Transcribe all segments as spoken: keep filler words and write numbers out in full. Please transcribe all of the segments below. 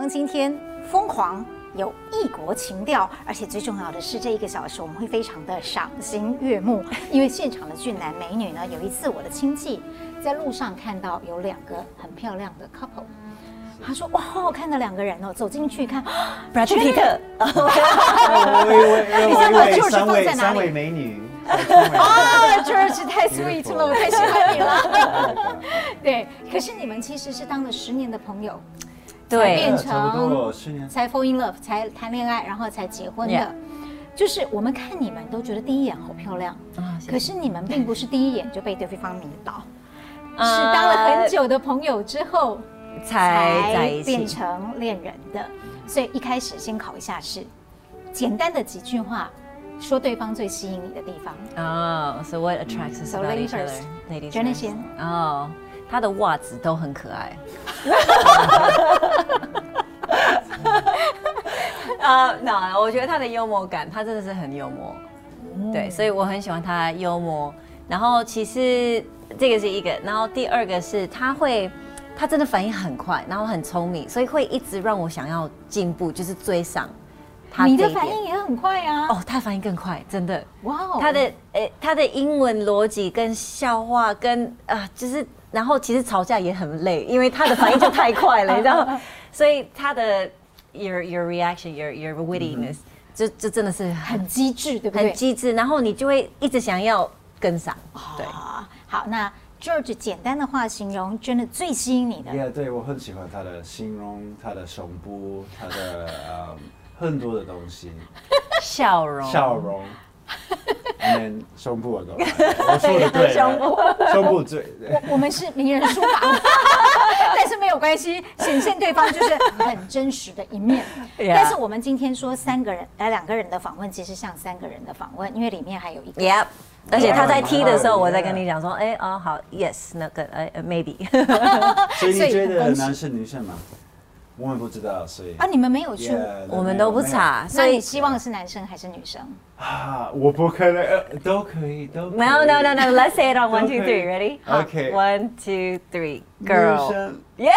方今天瘋狂有異國情調，而且最重要的是，這一個小時我們會非常的賞心悅目，因為現場的俊男美女呢，有一次我的親戚在路上看到有兩個很漂亮的 couple。他說：“哇，好好看的兩個人哦！”走進去看， 布拉德皮特。 我以為我以為三位三位美女。 啊 ，George 太 sweet 了，我太喜歡你了。對，可是你們其實是當了十年的朋友， 對， 變成十年才 fall in love， 才談戀愛，然後才結婚的。Yeah. 就是我們看你們都覺得第一眼好漂亮，啊、可是你們並不是第一眼就被對方迷倒，啊、是當了很久的朋友之後。才在一起變成戀人的，所以一開始先考一下試，簡單的幾句話，說對方最吸引你的地方。 哦、oh, so what attracts us about each other? Ladies first. 先。哦，他的襪子都很可愛。呃，那我覺得他的幽默感，他真的是很幽默。嗯、對，所以我很喜歡他幽默。然後其實這個是一個，然後第二個是他會。他真的反應很快，然後很聰明，所以會一直讓我想要進步，就是追上他。 你的反應也很快啊！ 哦，他反應更快，真的。 哇哦！ 他的誒、欸，他的英文邏輯跟笑話跟啊、呃，就是然後其實吵架也很累，因為他的反應就太快了，你知道？所以他的 your your reaction your your wittiness、嗯、就就真的是很很機智，對不對？ 很機智，然後你就會一直想要跟上。對， 哦、好，那。George 簡單的話形容真的最吸引你的。 Yeah， 對，我很喜歡他的形容，他的胸部，他的呃很多的東西， 笑容， 笑容，嗯，胸部的東西，我說的對，胸部，胸部最。 我我們是名人書房，但是沒有關係，顯現對方就是很真實的一面。Yeah. 但是我們今天說三個人，呃，兩個人的訪問，其實像三個人的訪問，因為裡面還有一個。Yep. 而且他在踢的時候，我在跟你講說，哎哦好 ，yes 那個呃 maybe。 所以你覺得男生女生嗎？我們不知道，所以啊你們沒有去， yeah, 我們都不查， 所以你希望是男生還是女生？ 啊，我不可能，都可以，都可以。 No no no no，let's say it on one two three，ready？Okay. One two three，girl。Yes。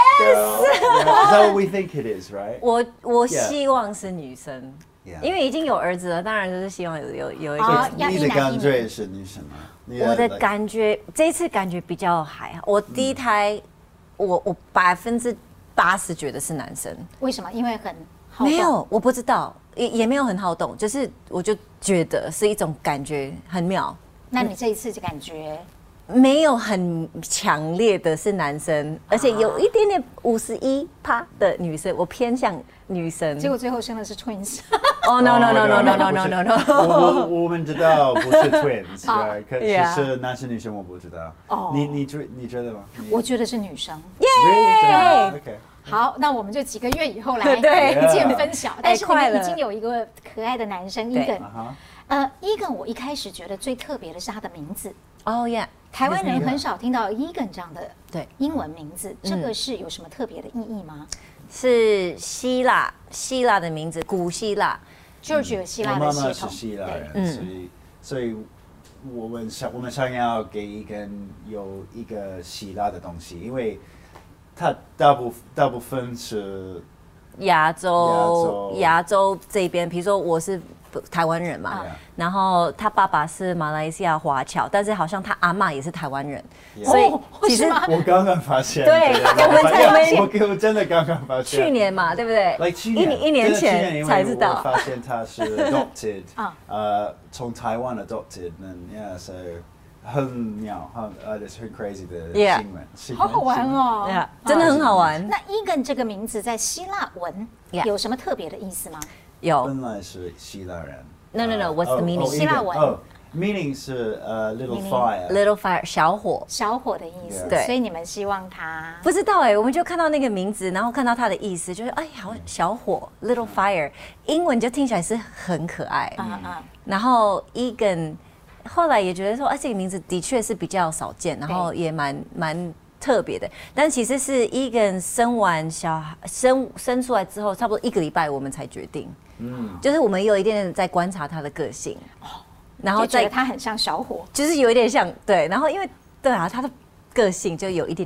Is that what we think it is, right？ 我我希望是女生。Yeah. 因為已經有兒子了，當然就是希望有有有一個。 哦、 你的感覺是女生嗎？ 我的感覺這一次感覺比較還好。我第一胎，嗯、我我百分之八十覺得是男生。 為什麼？因為很好動。 沒有，我不知道，也也沒有很好動，就是我就覺得是一種感覺很妙。 那你這一次就感覺？ 沒有很強烈的是男生，而且有一點點五十一趴的女生，我偏向女生。 結果最後生的是 twins。 哦 no no no no no no no no no。 我我們知道不是 twins， 可是男生女生我不知道。哦，你你覺你覺得嗎？ 我覺得是女生。 耶 ！OK。 好，那我們就幾個月以後來一見分曉。但是你們已經有一個可愛的男生 Egan。呃 ，Egan， 我一開始覺得最特別的是他的名字。 哦耶。 台灣人很少聽到 Egan 這樣的對英文名字，這個是有什麼特別的意義嗎？ 是希臘希臘的名字，古希臘。 George 有希臘的血統， 我媽媽是希臘人，所以所以我們想我們想要給 Egan有一個希臘的東西，因為他大部大部分是亞洲亞洲這邊，比如說我是台灣人嘛， yeah. 然後他爸爸是馬來西亞華僑，但是好像他阿嬤也是台灣人， yeah. 所以其實我剛剛發現， 對，我們才我我真的剛剛發現， 去年嘛，對不對？ like 去年一一年前才知道， 我發現他是 adopted， 呃，從台灣 adopted， and yeah， so 很妙，很呃，這是很 crazy 的新聞， 好好玩哦， yeah, 真的很好玩。 那 Egan 這個名字在希臘文有什麼特別的意思嗎？ 有， 本來是希臘人。 No no no，What's the meaning？ 希臘文。 哦 ，meaning 是呃 little fire。Little fire， 小火。 小火的意思。 对。 所以你們希望他？ 不知道哎，我們就看到那個名字，然後看到他的意思，就是哎，好小火 ，little fire， 英文就聽起來是很可愛。嗯嗯。然後 Egan 後來也覺得說，啊，這個名字的確是比較少見，然後也蠻蠻。特別的，但其實是 Egan 生完小孩生生出來之後，差不多一個禮拜我們才決定。嗯，就是我們有一點點在觀察他的個性，然後覺得他很像小火， 就是有一點像對。然後因為對啊，他的個性就有一點點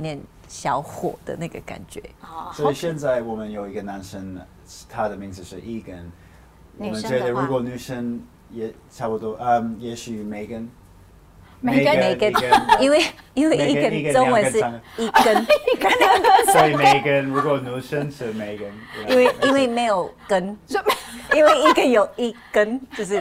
小火的那個感覺。 所以現在我們有一個男生，他的名字是 Egan。我們覺得如果女生也差不多，嗯，也許 Megan。 Megan，因為因為 Egan 中文是一根， 所以 Megan 如果女生是 Megan。 因為因為沒有根，因為 Egan 有一根，就是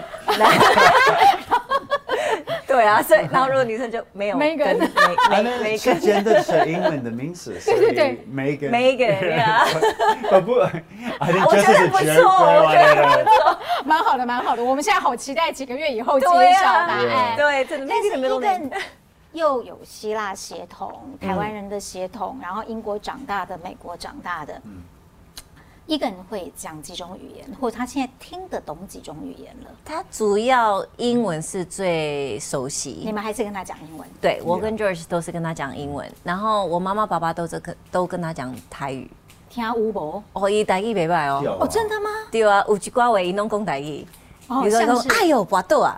對啊，所以然後如果女生就沒有 Megan， Megan 是真的是英文的名字， 對對對 ，Megan Megan 呀， 不不，我覺得不錯，我覺得不錯， 蠻好的蠻好的，我們現在好期待幾個月以後揭曉答案， 對，真的。 但是Egan又有希臘血統，台灣人的血統，然後英國長大的，美國長大的。Egan會講幾種語言，或者他現在聽得懂幾種語言了？ 他主要英文是最熟悉。 你們還是跟他講英文？ 對，我跟 George 都是跟他講英文，然後我媽媽爸爸都是跟都跟他講台語。 聽有無？ 哦，伊台語袂歹哦。 哦，真的嗎？ 對啊，有一寡話伊攏講台語。比如說講，哎呦，跋倒啊！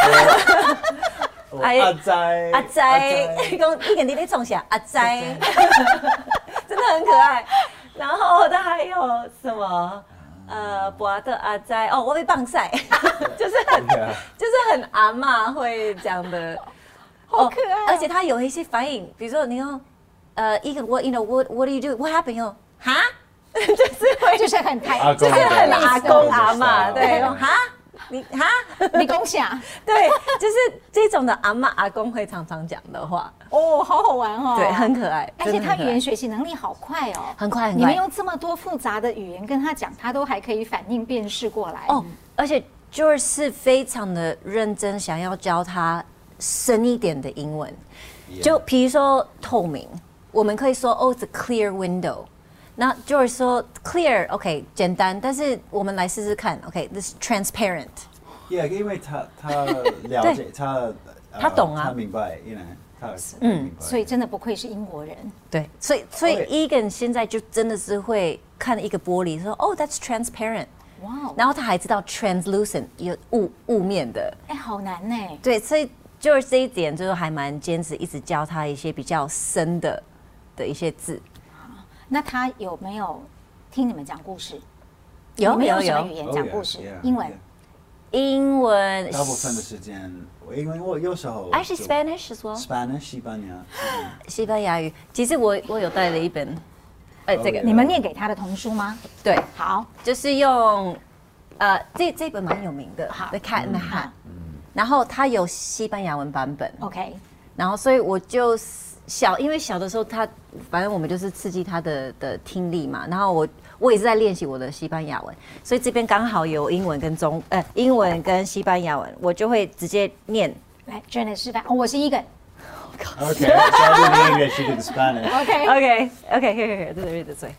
阿仔， 阿仔，講Egan你在創啥？阿仔，真的很可愛。然後他還有什麼？呃，博的阿仔哦，我被棒賽，就是很就是很阿嬤會講的， 好可愛。 而且他有一些反應，比如說你說，呃，Egan what you know what what do you do what happened？ 哦，哈，就是會就是很台， 就是很阿公阿嬤，對，哈。你哈， 你講啥？ 對，就是這種的阿嬤阿公會常常講的話。 哦，好好玩哦。 對，很可愛。 而且他語言學習能力好快哦， 很快很快。 你們用這麼多複雜的語言跟他講，他都還可以反應辨識過來。 哦，而且 George 是非常的認真，想要教他深一點的英文。就比如說透明，我們可以說哦，it's a clear window。那 George 說 clear，OK， 簡單，但是我們來試試看 ，OK，this transparent。Yeah， 因為他他了解他， 他懂啊， 他明白，因為他嗯，所以真的不愧是英國人。 對，所以所以 Egan 現在就真的是會看一個玻璃，說哦 ，that's transparent， 哇，然後他還知道 translucent 有霧霧面的， 哎，好難呢。 對，所以就是這一點，就是還蠻堅持，一直教他一些比較深的的一些字。 那他有沒有聽你們講故事？ 有有有。 什麼語言講故事？英文。 英文。 大部分的時間，因為我有時候。 Actually Spanish as well. Spanish 西班牙。 西班牙語。其實我我有帶了一本，呃，這個你們念給他的童書嗎？ 對， 好， 就是用，呃，這這本蠻有名的，《The Cat in the Hat》。然後它有西班牙文版本。 OK。 然後所以我就。小，因為小的時候他，反正我們就是刺激他的的聽力嘛。然後我我也是在練習我的西班牙文，所以這邊剛好有英文跟中呃英文跟西班牙文，我就會直接念。 來 ，Janet 示範。哦，我是Egan。 Okay, so I did English, you did Spanish. Okay. Okay. Okay. Here, here, here. Read this way.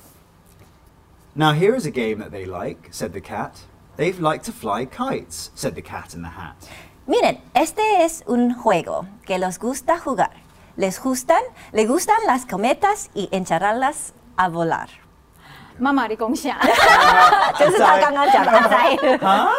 Now here is a game that they like," said the cat. "They like to fly kites," said the cat in the hat. Miren, este es un juego que les gusta jugar. Les gustan, les gustan las cometas y echarlas a volar. 媽媽，你講啥？ 就是他剛剛講的阿仔。 哈？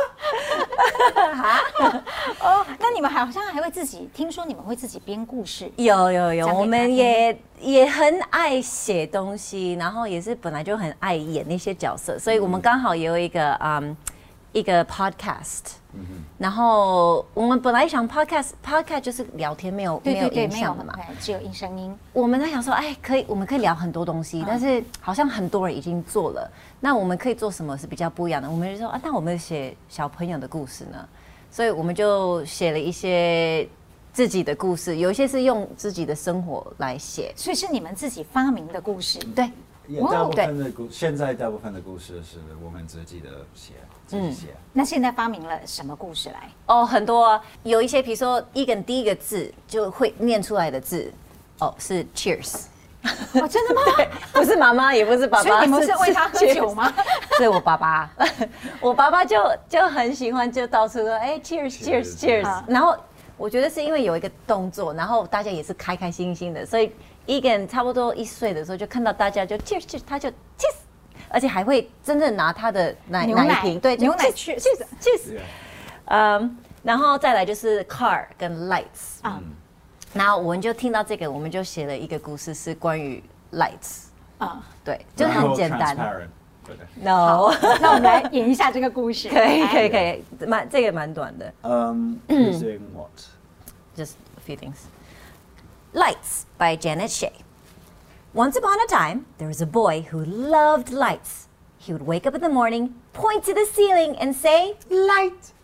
哈？哦，那你們好像還會自己，聽說你們會自己編故事？ 有有有，我們也也很愛寫東西，然後也是本來就很愛演那些角色，所以我們剛好也有一個嗯一個 podcast。然後我們本來想 podcast podcast 就是聊天，沒有沒有影像的嘛， 只有音聲音。 我們在想說，哎，可以，我們可以聊很多東西，但是好像很多人已經做了，那我們可以做什麼是比較不一樣的？我們就說啊，那我們寫小朋友的故事呢？所以我們就寫了一些自己的故事，有一些是用自己的生活來寫， 所以是你們自己發明的故事。 對， 大部分的故現在大部分的故事是我們自己的寫。嗯， 那現在發明了什麼故事來？ 哦，很多、啊，有一些，比如說Egan第一個字就會念出來的字，哦，是 Cheers。 哦，真的嗎？ 不是媽媽，也不是爸爸。 所以你們是為他喝酒嗎？ 是我爸爸，我爸爸就就很喜歡，就到處說，哎 ，Cheers，Cheers，Cheers。然後我覺得是因為有一個動作，然後大家也是開開心心的，所以Egan差不多一歲的時候就看到大家就 Cheers，Cheers， 他就 Cheers。而且還會真正拿他的奶奶瓶，對， 牛奶去去去，嗯，然後再來就是 car 跟 lights 啊， 然後我們就聽到這個，我們就寫了一個故事，是關於 lights 啊，對，就很簡單。No， 那我們來演一下這個故事。 可以，可以，可以，蠻這個蠻短的。 Um, who's doing what? Just a few things. Lights by Janet Shea. Once upon a time, there was a boy who loved lights. He would wake up in the morning, point to the ceiling, and say, "Light."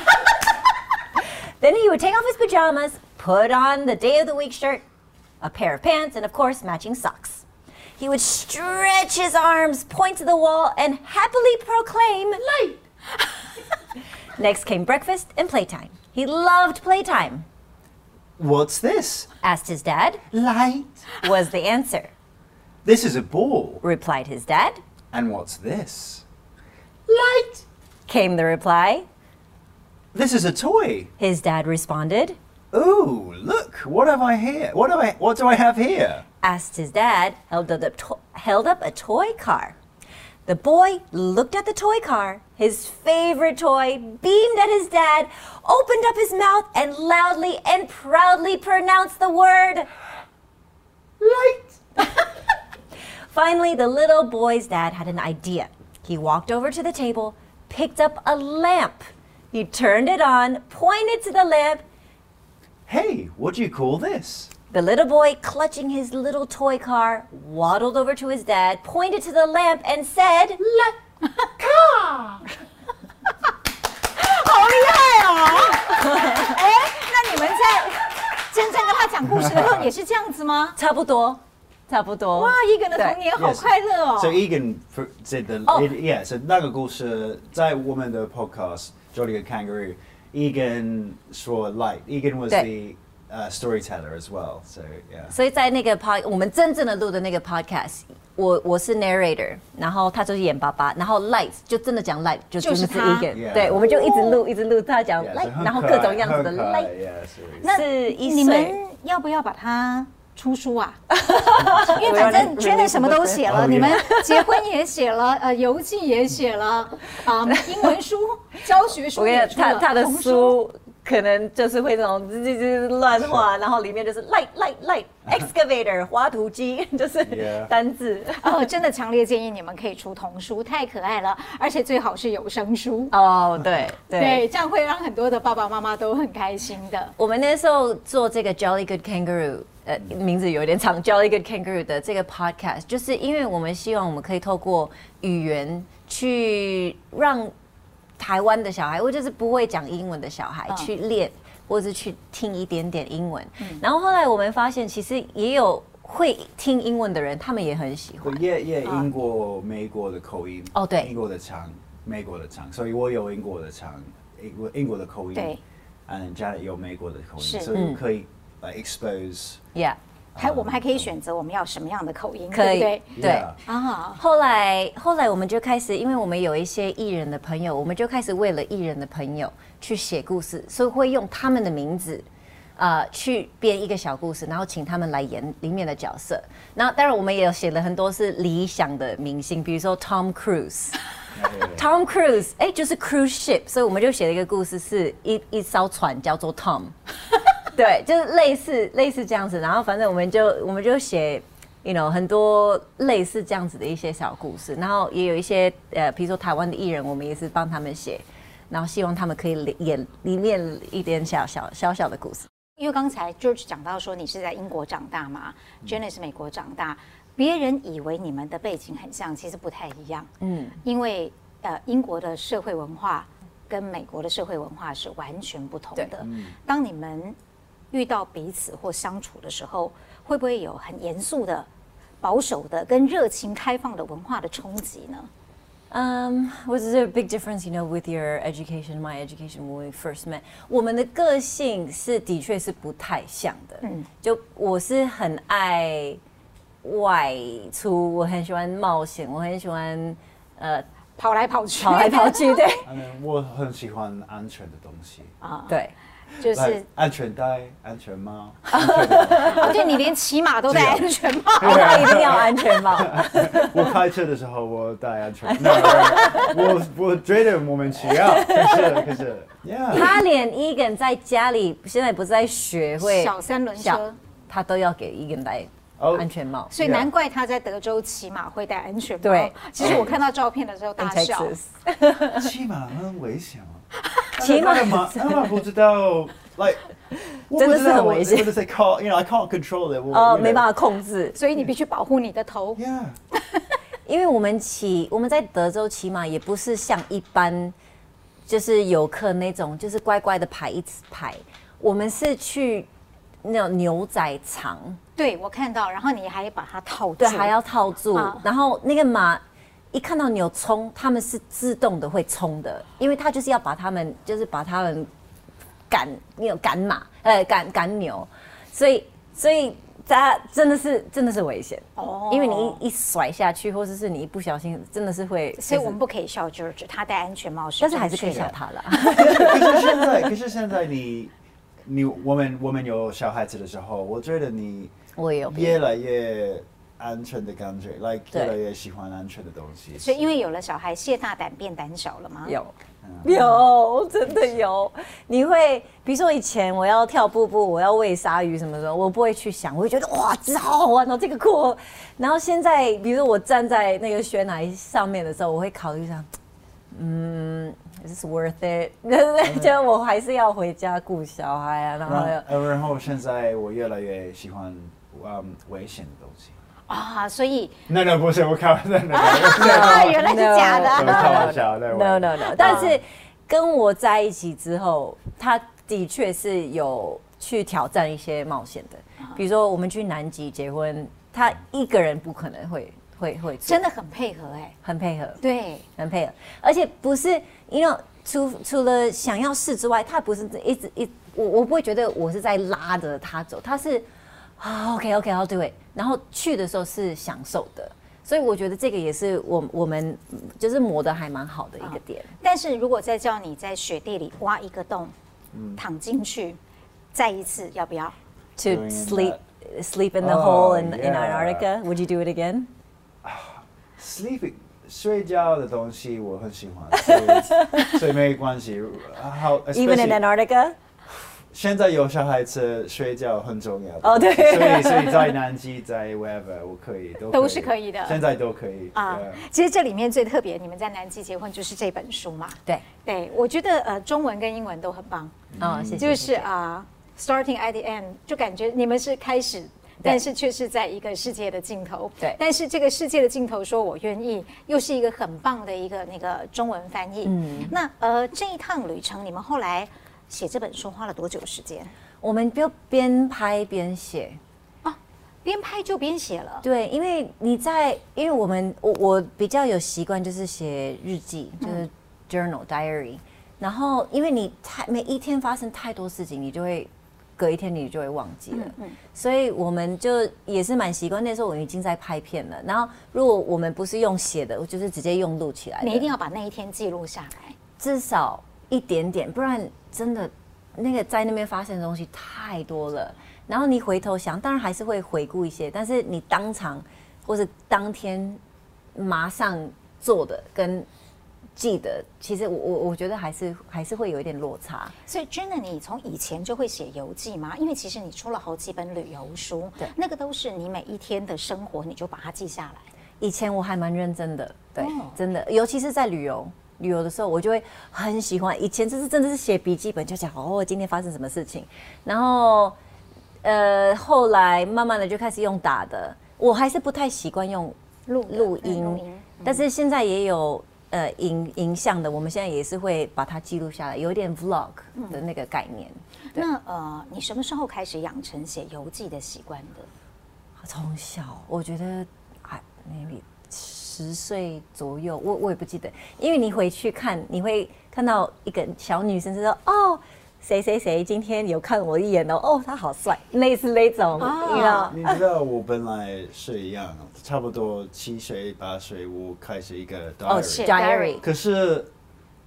Then he would take off his pajamas, put on the day of the week shirt, a pair of pants, and of course, matching socks. He would stretch his arms, point to the wall, and happily proclaim, "Light." Next came breakfast and playtime. He loved playtime. What's this? Asked his dad. Light. Was the answer. This is a ball. Replied his dad. And what's this? Light. Came the reply. This is a toy. His dad responded. Ooh, look, what have I here? What do I, what do I have here? Asked his dad, held up, to- held up a toy car. The boy looked at the toy car, his favorite toy, beamed at his dad, opened up his mouth, and loudly and proudly pronounced the word, "Light." Finally, the little boy's dad had an idea. He walked over to the table, picked up a lamp. He turned it on, pointed to the lamp. Hey, what do you call this? The little boy, clutching his little toy car, waddled over to his dad, pointed to the lamp, and said, "La car." 好厉害哦！哎，那你们在真正跟他讲故事的时候也是这樣子嗎？ 差不多，差不多。 哇，Egan的童年好快樂哦。 So Egan did the oh. yeah. So 那個故事在我們的 podcast Jolly Good Kangaroo, Egan 說 light. Egan was the Uh, storyteller as well, so yeah. 所以在那個 pod， 我們真正的錄的那個 podcast， 我我是 narrator， 然後他就是演爸爸，然後 lights 就真的講 light， 就真的是 Egan， yeah. 對，我們就一直錄一直錄他講 light， 然後各種樣子的 light。 那你們要不要把它出書啊？因為反正 Janet 什麼都寫了，你們結婚也寫了，呃，遊記也寫了，啊、嗯，英文書、教學書也出了， 他他的書。可能就是會那種就是亂畫，然後裡面就是 light light light excavator 挖土機，就是單字。 哦，真的強烈建議你們可以出童書，太可愛了，而且最好是有聲書。 哦，對對對，這樣會讓很多的爸爸媽媽都很開心的。 我們那時候做這個 Jolly Good Kangaroo， 呃，名字有點長 ，Jolly Good Kangaroo 的這個 podcast， 就是因為我們希望我們可以透過語言去讓台灣的小孩，或者是不會講英文的小孩、嗯、去練，或者是去聽一點點英文、嗯。然後後來我們發現，其實也有會聽英文的人，他們也很喜歡。 也也英國、美國的口音。 哦，對， 英國的腔，美國的腔，所以我有英國的腔，英國英國的口音。對。and Janet 有美國的口音，所以可以來 expose。Yeah。 還我們還可以選擇我們要什麼樣的口音， 可以， 對不對？ 對啊。後來後來我們就開始，因為我們有一些藝人的朋友，我們就開始為了藝人的朋友去寫故事，所以會用他們的名字，呃，去編一個小故事，然後請他們來演裡面的角色。然後當然我們也有寫了很多是理想的明星，比如說 Tom Cruise。Tom Cruise， 哎，就是 cruise ship， 所以我們就寫了一個故事，是一一艘船叫做 Tom。對，就是類似類似這樣子，然後反正我們就我們就寫 ，you know 很多類似這樣子的一些小故事，然後也有一些呃，比如說台灣的藝人，我們也是幫他們寫，然後希望他們可以演裡面一點小小小小的故事。 因為剛才 George 講到說你是在英國長大嘛、嗯、，Janet 是美國長大，別人以為你們的背景很像，其實不太一樣。嗯，因為呃英國的社會文化跟美國的社會文化是完全不同的。嗯、當你們遇到彼此或相處的時候，會不會有很嚴肅的、保守的跟熱情開放的文化的衝擊呢？ Um, was there a big difference, you know, with your education, my education when we first met? 我們的個性是的確是不太像的。嗯，就我是很愛外出，我很喜歡冒險，我很喜歡呃跑來跑去， 跑來跑去。對， 我很喜歡安全的東西啊。 對。 就是安全帶、安全帽。 哦，对，你连騎馬都戴安全帽， 他一定要安全帽。 我開車的時候我戴安全帽，我我覺得莫名其妙，可是可是， yeah. 他連 Egan 在家裡現在不是在學會小三輪車， 他都要給 Egan 戴安全帽， oh, 所以難怪他在德州騎馬會戴安全帽。 對， 其實我看到照片的時候大笑。 騎馬很危險嗎？ 騎馬馬，馬不知道 ，like 真的是很危險。 就是 call, you know, I can't control it。 哦，沒辦法控制， 所以你必須保護你的頭。 Yeah。 因為我們騎，我們在德州騎馬也不是像一般就是遊客那種，就是乖乖的排一排，我們是去那種牛仔場。 對，我看到，然後你還把它套住， 對，還要套住，啊、然後那個馬一看到牛衝，他們是自動的會衝的，因為他就是要把他們，就是把他們趕，那種趕馬，呃，趕趕牛，所以所以他真的是真的是危險哦，因為你一一甩下去，或者是你一不小心，真的是會， 所以我們不可以笑 George， 他戴安全帽是， 但是還是可以笑他啦。 可是現在，可是現在你你我們我們有小孩子的時候，我覺得你。 我也有越來越安全的感覺 ，like 越來越喜歡安全的東西。 所以因為有了小孩，謝大膽變膽小了嗎？ 有，有，真的有。你會，比如說以前我要跳瀑布，我要餵鯊魚什麼的，我不會去想，我會覺得哇，這好好玩哦，這個酷。然後現在，比如說我站在那個懸崖上面的時候，我會考慮上，嗯。Is this worth it？ 就我還是要回家顧小孩啊，然後， 然後現在我越來越喜歡嗯危險的東西啊，所以那那不是我開玩笑， 啊，原來是假的， 開玩笑 ，no no no。但是跟我在一起之後，他的確是有去挑戰一些冒險的，比如說我們去南極結婚，他一個人不可能會。會會真的很配合哎、欸， 很配合， 對，很配合，而且不是因為除除了想要試之外，他不是一直一我我不會覺得我是在拉着他走，他是啊 OK OK 好對，然後去的時候是享受的，所以我覺得這個也是我我們就是磨得還蠻好的一個點。 但是如果再叫你在雪地裡挖一個洞，嗯、躺進去，再一次要不要 ？To sleep sleep in the hole in in Antarctica, would you do it again? Sleeping 睡覺的東西我很喜歡，所以所以沒關係。好 ，Even in Antarctica， 現在有小孩子睡覺很重要。 哦，對。 所以所以在南極在 wherever 我可以都可以都是可以的， 現在都可以啊。 其實這裡面最特別，你們在南極結婚就是這本書嘛。 對對，我覺得呃中文跟英文都很棒。 哦，謝謝。 就是啊 ，Starting at the end， 就感覺你們是開始。但是卻是在一個世界的盡頭。 對。 但是這個世界的盡頭，說我願意，又是一個很棒的一個那個中文翻譯。嗯。那呃，這一趟旅程，你們後來寫這本書花了多久時間？ 我們就邊拍邊寫。 哦，邊拍就邊寫了。 對，因為你在，因為我們我我比較有習慣，就是寫日記，就是 journal、嗯、diary。然後，因為你太每一天發生太多事情，你就會。隔一天你就會忘記了，嗯嗯、所以我們就也是蠻習慣。那時候我已經在拍片了，然後如果我們不是用寫的，我就是直接用錄起來的。 你一定要把那一天記錄下來， 至少一點點，不然真的那個在那邊發生的東西太多了。然後你回頭想，當然還是會回顧一些，但是你當場或是當天馬上做的跟。記得，其實我我我覺得還是還是會有一點落差。 所以真的，你從以前就會寫遊記嗎？因為其實你出了好幾本旅遊書，對，那個都是你每一天的生活，你就把它記下來。 以前我還蠻認真的，對，哦、真的，尤其是在旅遊旅遊的時候，我就會很喜歡。以前就是真的是寫筆記本，就講哦，今天發生什麼事情。然後呃，後來慢慢的就開始用打的，我還是不太習慣用錄錄音，錄音嗯、但是現在也有。呃，影影像的，我們現在也是會把它記錄下來，有點 vlog 的那個概念。 嗯、那呃，你什麼時候開始養成寫遊記的習慣的？ 從小，我覺得啊，maybe 十歲左右，我我也不記得，因為你回去看，你會看到一個小女生就說哦。誰誰誰今天有看我一眼哦，哦，他好帥，類似那種， 你知道？你知道我本來是一樣，差不多七歲八歲，我開始一個 diary，、oh, diary。 可是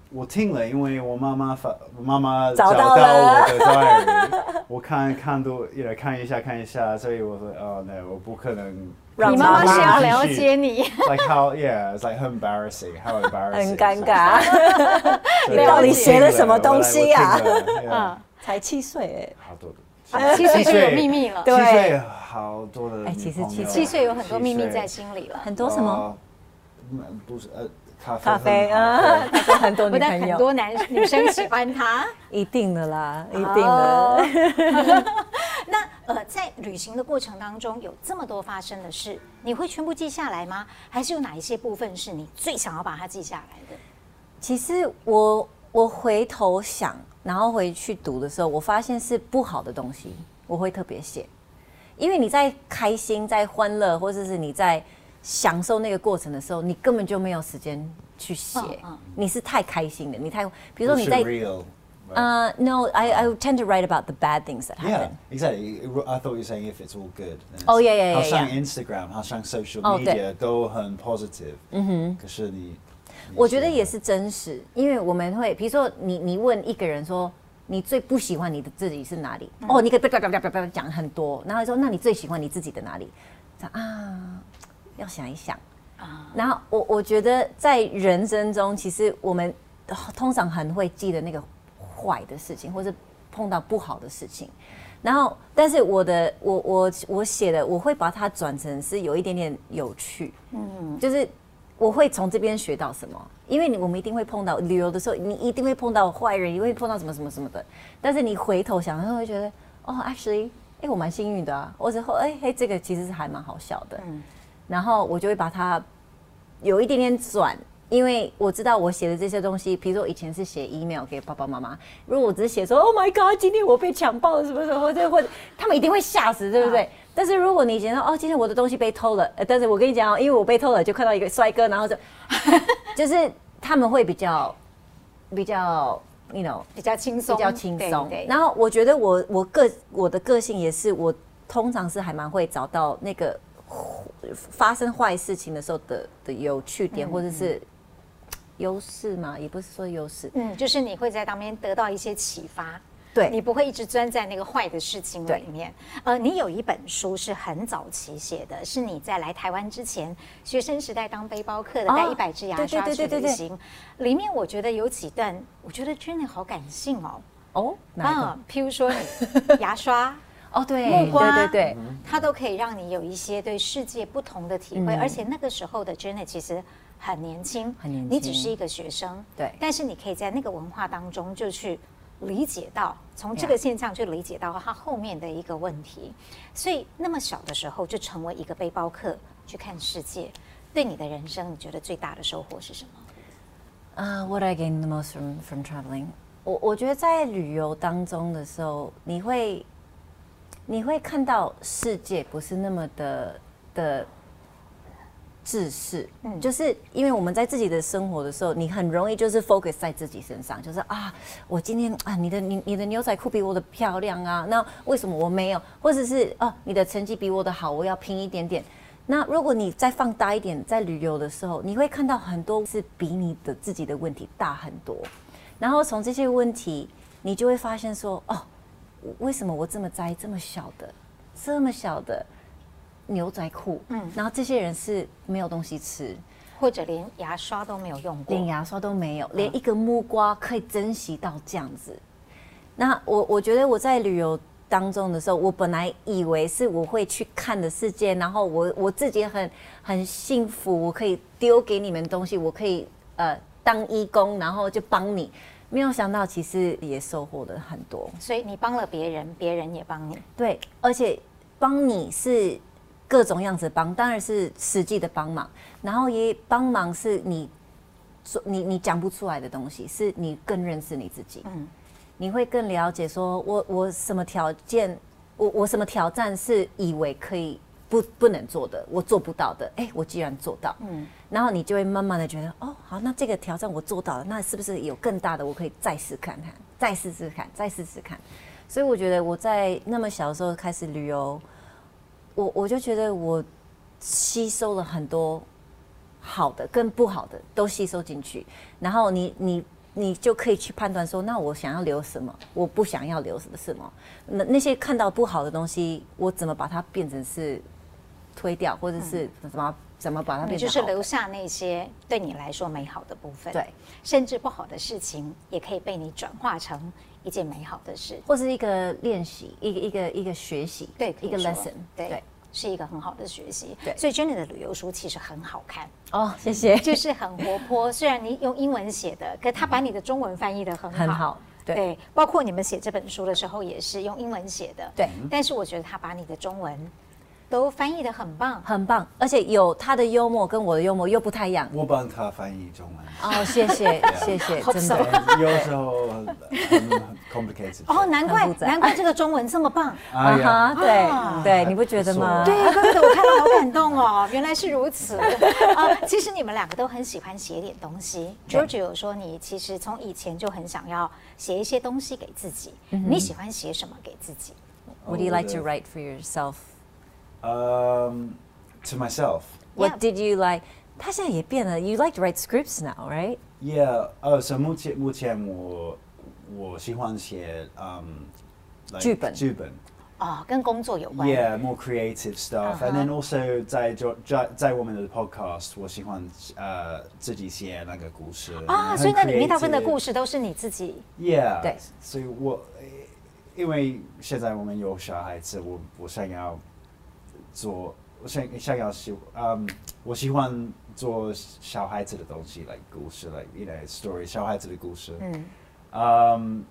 我聽了，因為我媽媽發，我媽媽找到到我的 diary， 我看看多，一來看一下看一下，所以我說，哦，那我不可能。 你媽媽是要了解你。 Like how, yeah, it's like how embarrassing, how embarrassing. 很尷尬。你到底寫了什麼東西啊？ 嗯， 才七歲哎。 好多的。 七歲就有秘密了。 七歲好多的。 哎，其實七七歲有很多秘密在心裡了。 很多什麼？ 不是呃。咖啡, 咖啡啊，他說很多女朋友， 很多男女生喜歡他， 一定的啦，一定的。Oh. 那呃，在旅行的過程當中，有這麼多發生的事，你會全部記下來嗎？還是有哪一些部分是你最想要把它記下來的？ 其實我我回頭想，然後回去讀的時候，我發現是不好的東西，我會特別寫，因為你在開心、在歡樂，或者是你在享受那個過程的時候，你根本就沒有時間去寫。Oh, oh. 你是太開心的，你太，比如說你在，呃、uh, ，No, I I tend to write about the bad things that happen. Yeah, exactly. I thought you were saying if it's all good. Oh yeah, yeah, yeah. 好像 Instagram, 好像 social media 都很 positive. 嗯哼。可是你， 我覺得也是真實，因為我們會，比如說你你問一個人說，你最不喜歡你的自己是哪裡？哦、嗯，oh, 你可以叭叭叭叭叭講很多，然後說那你最喜歡你自己的哪裡？啊。要想一想，然後我我覺得在人生中，其實我們通常很會記得那個壞的事情，或是碰到不好的事情。然後，但是我的我我我寫的，我會把它轉成是有一點點有趣，嗯，就是我會從這邊學到什麼，因為你我們一定會碰到旅遊的時候，你一定會碰到壞人，你會碰到什麼什麼什麼的。但是你回頭想，就會覺得哦 ，actually， 哎，我蠻幸運的啊，或者說哎嘿，這個其實是還蠻好笑的。嗯，然後我就會把它有一點點轉，因為我知道我寫的這些東西，比如說我以前是寫 email 給爸爸媽媽，如果我只是寫說 Oh my God， 今天我被強暴了什麼什麼，或者或者他們一定會嚇死，對不對？啊、但是如果你覺得哦，今天我的東西被偷了，呃、但是我跟你講哦，因為我被偷了，就看到一個帥哥，然後就就是他們會比較比較 you know 比較輕鬆， 比較輕鬆。然後我覺得我我個我的個性也是，我通常是還蠻會找到那個。發生壞事情的時候的的有趣點，嗯、或者是優勢嘛，也不是說優勢，嗯， 就是你會在當邊得到一些啟發， 對， 你不會一直鑽在那個壞的事情裡面。呃，你有一本書是很早期寫的，是你在來台灣之前，學生時代當背包客的，帶一百支牙刷去旅行。裡面我覺得有幾段，我覺得真的好感性哦。哦，哪一個？啊，譬如說你牙刷。 哦，對， 木瓜， 對對對， 它都可以讓你有一些對世界不同的體會，嗯、而且那個時候的 Janet 其實很年輕，很年輕，你只是一個學生，對，但是你可以在那個文化當中就去理解到，從這個現象去理解到它後面的一個問題，所以那麼小的時候就成為一個背包客去看世界，對你的人生，你覺得最大的收穫是什麼？ 啊、uh, What I gained the most from from traveling， 我我覺得在旅遊當中的時候，你會。你會看到世界不是那麼的的自私，嗯，就是因為我們在自己的生活的時候，你很容易就是 focus 在自己身上，就是啊，我今天啊，你的你你的牛仔褲比我的漂亮啊，那為什麼我沒有？或者是哦、啊，你的成績比我的好，我要拼一點點。那如果你再放大一點，在旅遊的時候，你會看到很多是比你的自己的問題大很多，然後從這些問題，你就會發現說，哦。為什麼我這麼在意這麼小的、這麼小的牛仔褲？嗯，然後這些人是沒有東西吃， 或者連牙刷都沒有用過， 連牙刷都沒有，連一個木瓜可以珍惜到這樣子。那我我覺得我在旅遊當中的時候，我本來以為是我會去看的世界，然後我我自己很很幸福，我可以丟給你們東西，我可以呃當義工，然後就幫你。沒有想到，其實也收穫了很多。 所以你幫了別人，別人也幫你。 對，而且幫你是各種樣子幫，當然是實際的幫忙，然後也幫忙是你你你講不出來的東西，是你更認識你自己。嗯，你會更了解說我我什麼條件，我我什麼挑戰是以為可以不不能做的，我做不到的，哎，我既然做到。嗯。然後你就會慢慢的覺得，哦，好，那這個挑戰我做到了，那是不是有更大的？我可以再試看看，再試試看，再試試看。所以我覺得我在那麼小的時候開始旅遊，我我就覺得我吸收了很多好的跟不好的都吸收進去。然後你你你就可以去判斷說，那我想要留什麼，我不想要留什麼。那那些看到不好的東西，我怎麼把它變成是推掉，或者是怎麼、嗯、怎麼把它變成好的？ 就是留下那些對你來說美好的部分， 對， 甚至不好的事情也可以被你轉化成一件美好的事， 或是一個練習，一個一個一個學習， 對， 一個 lesson， 對。 對， 是一個很好的學習， 對， 所以 Jenny 的旅遊書其實很好看哦，謝謝， 就是很活潑。雖然你用英文寫的，可他把你的中文翻譯得很好， 很好，對， 對，包括你們寫這本書的時候也是用英文寫的， 對。 但是我覺得他把你的中文都翻譯得很棒， 很棒，而且有他的幽默跟我的幽默又不太一樣。 我幫他翻譯中文。 哦，謝謝，謝謝，真的。有時候很 complicated。 哦，難怪難怪這個中文這麼棒。 啊哈，對對，你不覺得嗎？ 對，真的，我看到好感動哦，原來是如此啊！其實你們兩個都很喜歡寫點東西。George 有說你其實從以前就很想要寫一些東西給自己。你喜歡寫什麼給自己 ？What do you like to write for yourself? Um, to myself. What did you like? 他現在也變了。You like to write scripts now, right? Yeah. 呃，所以目前目前我我喜歡寫嗯劇本劇本。 哦，跟工作有關。 Yeah, more creative stuff. And then also 在在在我們的 podcast， 我喜歡呃自己寫那個故事。 啊，所以那裡面大部分的故事都是你自己。 Yeah. 對。 所以我因為現在我們有小孩子，我我想要。做我想想要喜嗯，我喜歡做小孩子的東西 ，like 故事 ，like you know story 小孩子的故事。嗯。Um,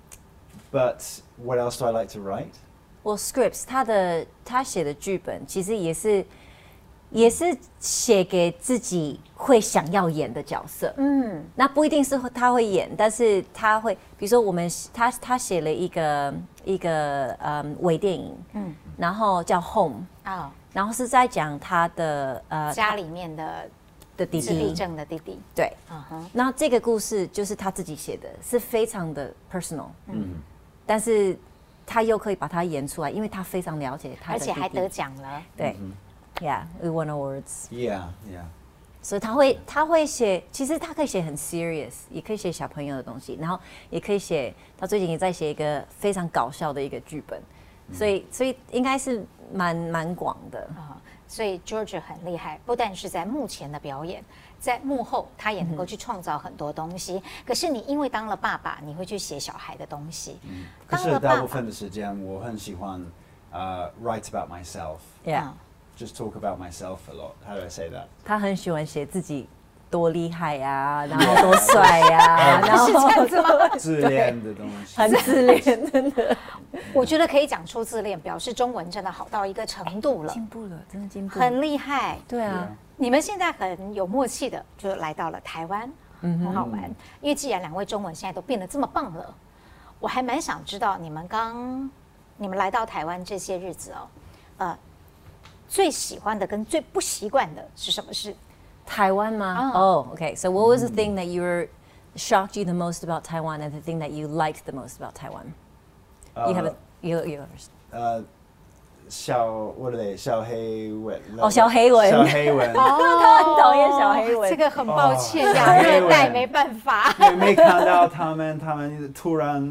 but what else do I like to write? Well, scripts 他的他寫的劇本其實也是也是寫給自己會想要演的角色。嗯。那不一定是他會演，但是他會，比如說我們他他寫了一個一個嗯微電影，嗯，然後叫 Home 啊。Oh.然後是在講他的呃家裡面的的弟弟，自閉症的弟弟。 對，嗯哼。然後這個故事就是他自己寫的，是非常的 personal，嗯，但是他又可以把它演出來，因為他非常了解他的弟弟， 而且還得獎了。 對、嗯、，Yeah, we won awards. Yeah, yeah. 所以他會他會寫，其實他可以寫很 serious， 也可以寫小朋友的東西，然後也可以寫，他最近也在寫一個非常搞笑的一個劇本。所以，所以應該是蠻蠻廣的啊、嗯。 所以 George 很厲害，不但是在幕前的表演，在幕後他也能夠去創造很多東西。嗯、可是你因為當了爸爸，你會去寫小孩的東西。嗯、 可是大部分的時間，我很喜歡呃、uh, write about myself. Yeah. Just talk about myself a lot. How do I say that? 他很喜歡寫自己。多厲害呀、啊，然後多帥呀、啊，然後是這樣子嗎？ 自戀的東西， 很自戀，真的。 我覺得可以講出自戀，表示中文真的好到一個程度了， 進步了，真的進步了， 很厲害。 對啊， 你們現在很有默契的就來到了台灣，嗯，很好玩。因為既然兩位中文現在都變得這麼棒了，我還蠻想知道你們剛你們來到台灣這些日子哦，呃，最喜歡的跟最不習慣的是什麼事？ 台灣嗎？哦、oh. oh, okay. So what was the thing that you were shocked you the most about Taiwan, and the thing that you liked the most about Taiwan? Uh, you have a you you. 呃，小我的小黑蚊。 哦，小黑蚊。 小黑蚊。 哦，他很討厭小黑蚊。 這個很抱歉，亞熱帶沒辦法。 因為沒看到他們，他們突然。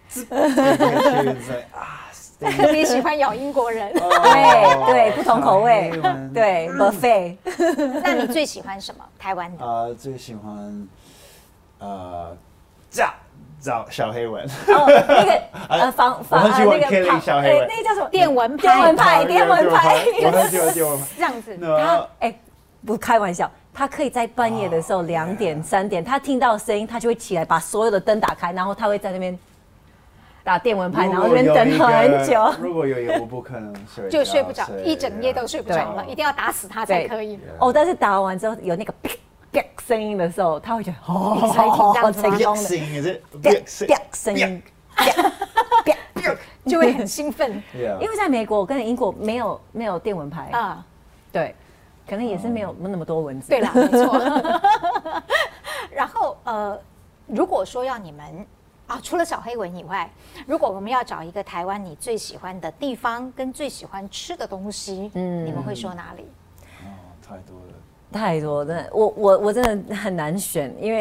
特別喜歡咬英國人， 對對，不同口味，對 buffet。 那你最喜歡什麼？台灣的？ 呃，最喜歡呃，炸找小黑蚊。 哦，那個呃防防我很喜歡 killing 小黑蚊， 那個叫什麼？電蚊拍， 電蚊拍，電蚊拍。 我很喜歡電蚊拍。 這樣子， 他哎，不開玩笑，他可以在半夜的時候兩點三點，他聽到聲音，他就會起來把所有的燈打開，然後他會在那邊。打電蚊拍，然後那邊等很久。 如果有一個，我不可能睡， 就睡不着，一整夜都睡不着了，一定要打死他才可以。 哦，但是打完之後有那個啪啪聲音的時候，他會覺得哦， 好成功的。聲音是啪啪聲音，啪啪就會很興奮。 因為在美國跟英國沒有沒有電蚊拍啊，對，可能也是沒有那麼多蚊子。 對啦，沒錯。然後呃，如果說要你們。啊，除了小黑蚊以外，如果我們要找一個台灣你最喜歡的地方跟最喜歡吃的東西，嗯，你們會說哪裡？ 哦，太多了， 太多了，真的，我我我真的很難選，因為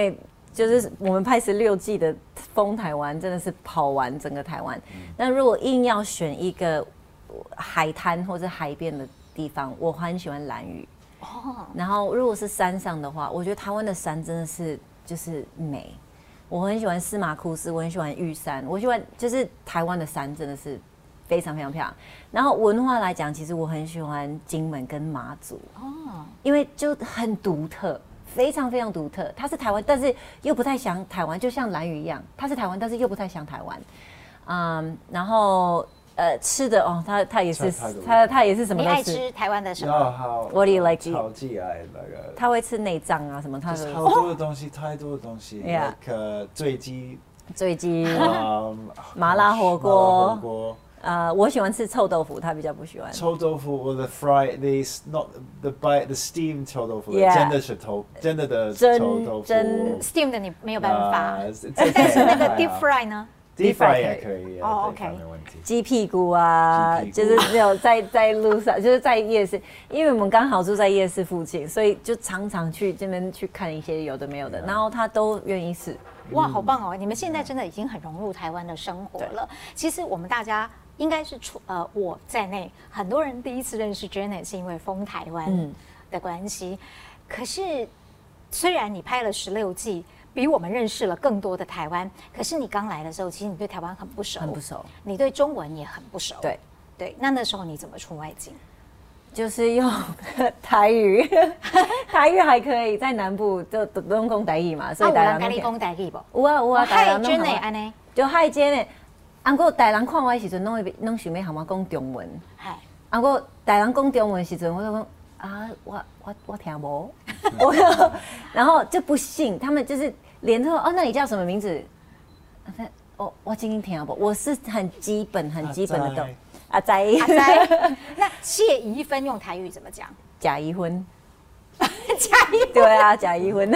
就是我們拍十六季的瘋台灣，真的是跑完整個台灣。嗯、那如果硬要選一個海灘或者海邊的地方，我很喜歡蘭嶼。哦。然後如果是山上的話，我覺得台灣的山真的是就是美。我很喜歡司馬庫斯，我很喜歡玉山，我喜歡就是台灣的山真的是非常非常漂亮。然後文化來講，其實我很喜歡金門跟馬祖。哦。因為就很獨特。非常非常獨特，它是台灣，但是又不太像台灣，就像蘭嶼一樣，它是台灣，但是又不太像台灣。嗯，然後呃吃的哦，它它也是它它也是什麼都吃。 你愛吃台灣的什麼 ？What do you like to eat？ 超級愛那個。 他會吃內臟啊什麼？他好多的東西，太多的東西。Yeah。醉雞。醉雞。麻辣火鍋。 呃，我喜歡吃臭豆腐，他比較不喜歡。 臭豆腐，我的 fry the not the by the steam 臭豆腐，真的是臭，真的的臭豆腐。 真 steam 的你沒有辦法，但是那個 deep fry 呢 ？deep fry 也可以。 哦 ，OK。 沒問題。 雞屁股啊，就是沒有在在路上，就是在夜市，因為我們剛好住在夜市附近，所以就常常去這邊去看一些有的沒有的，然後他都願意試。 哇，好棒哦！你們現在真的已經很融入台灣的生活了。其實我們大家。應該是出呃我在內，很多人第一次認識 Janet 是因為瘋台灣的關係。嗯、可是雖然你拍了十六季，比我們認識了更多的台灣，可是你剛來的時候，其實你對台灣很不熟， 很不熟， 你對中文也很不熟。 對對，那那時候你怎麼出外景？ 就是用台語，台語還可以，在南部就都用講台語嘛，所以大家都講台語不？ 有啊有啊， 大家都講。嗨 Janet 安呢？ 就嗨 Janet。啊，過台人看我的時陣，攏會攏想要和我講中文。係。啊，過台人講中文的時陣，我就講啊，我我我聽無。我然後就不信，他們就是連說哦，那你叫什麼名字？我我今天聽無，我是很基本很基本的懂。阿仔。阿仔。 那謝宜芬用台語怎麼講？ 假宜婚。 假宜婚。 對啊，假宜婚。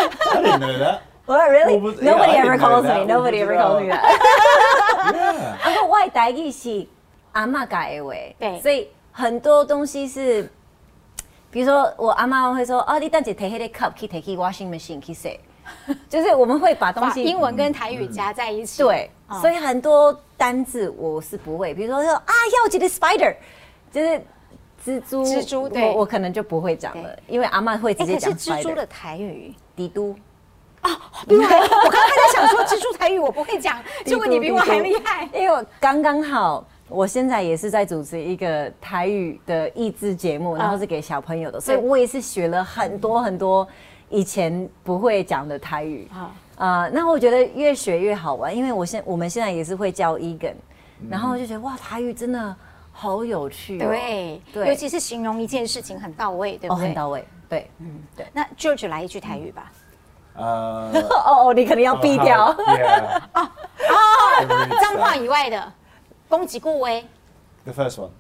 I didn't know that. Well, really? Nobody ever calls me. Nobody ever calls me that. 啊，不，我的台語是阿嬤教的話，對，所以很多東西是，比如說我阿嬤會說，哦，你等下提那個 cup 去提去 washing machine 去洗，就是我們會把東西英文跟台語加在一起。 對，所以很多單字我是不會，比如說說啊，要記得 spider， 就是蜘蛛， 蜘蛛，對， 我可能就不會講了，因為阿嬤會直接講 spider。 可是蜘蛛的台語， 帝都。 啊，對，我剛剛在想說蜘蛛台語我不會講，結果你比我還厲害。 因為我剛剛好，我現在也是在主持一個台語的益智節目，然後是給小朋友的，所以我也是學了很多很多以前不會講的台語啊。呃，那我覺得越學越好玩，因為我現我們現在也是會教 Egan，然後就覺得哇，台語真的好有趣哦。 對，對，尤其是形容一件事情很到位，對不對？ 哦，很到位，對，嗯，對。 那 George 來一句台語吧。 呃， 哦哦，你可能要避掉。 哦哦，髒話以外的，攻擊顧威。 The first one.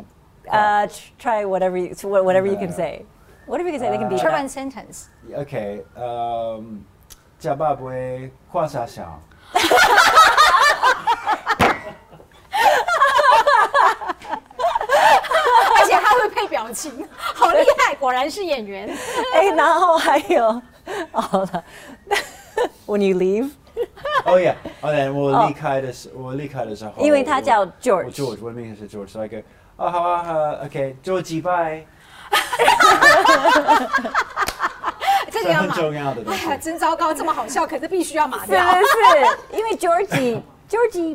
Uh, try whatever you whatever you can say. Whatever you can say, they can be. Try one sentence. Okay. Um, 假爸不會跨下小。 而且他會配表情，好厲害，果然是演員。 哎，然後還有。好了 ，When you leave， 哦呀，哦對，我離開的時，我離開的時候， 因為他叫 George，George， 我的名字是 George， 所以個，哦好啊好 ，OK，George bye， 這個要很重要的東西， 哎呀，真糟糕，這麼好笑，可是必須要碼掉， 是是，因為 George，George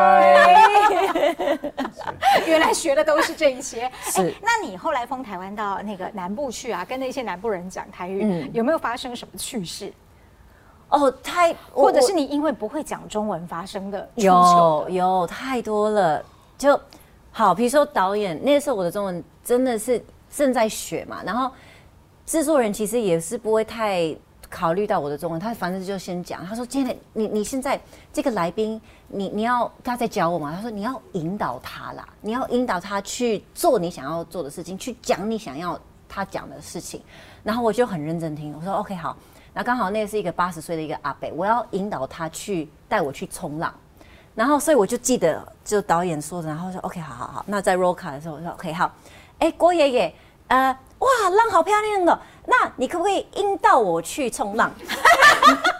bye， 原來學的都是這一些。 是， 那你後來瘋台灣到那個南部去啊，跟那些南部人講台語，嗯、有沒有發生什麼趣事？ 哦，太， 或者是你因為不會講中文發生的？ 有有太多了，就好，比如說導演那時候我的中文真的是正在學嘛，然後製作人其實也是不會太考慮到我的中文，他反正就先講，他說今天你你現在這個來賓。你你要他在教我嘛？他說你要引導他啦，你要引導他去做你想要做的事情，去講你想要他講的事情。然後我就很認真聽，我說 OK 好。那剛好那是一個八十歲的一個阿伯，我要引導他去帶我去衝浪。然後所以我就記得就導演說的，然後說 OK 好好好。那在 roll call 的時候我說 OK 好。哎，郭爺爺，呃，哇，浪好漂亮的，那你可不可以引導我去衝浪？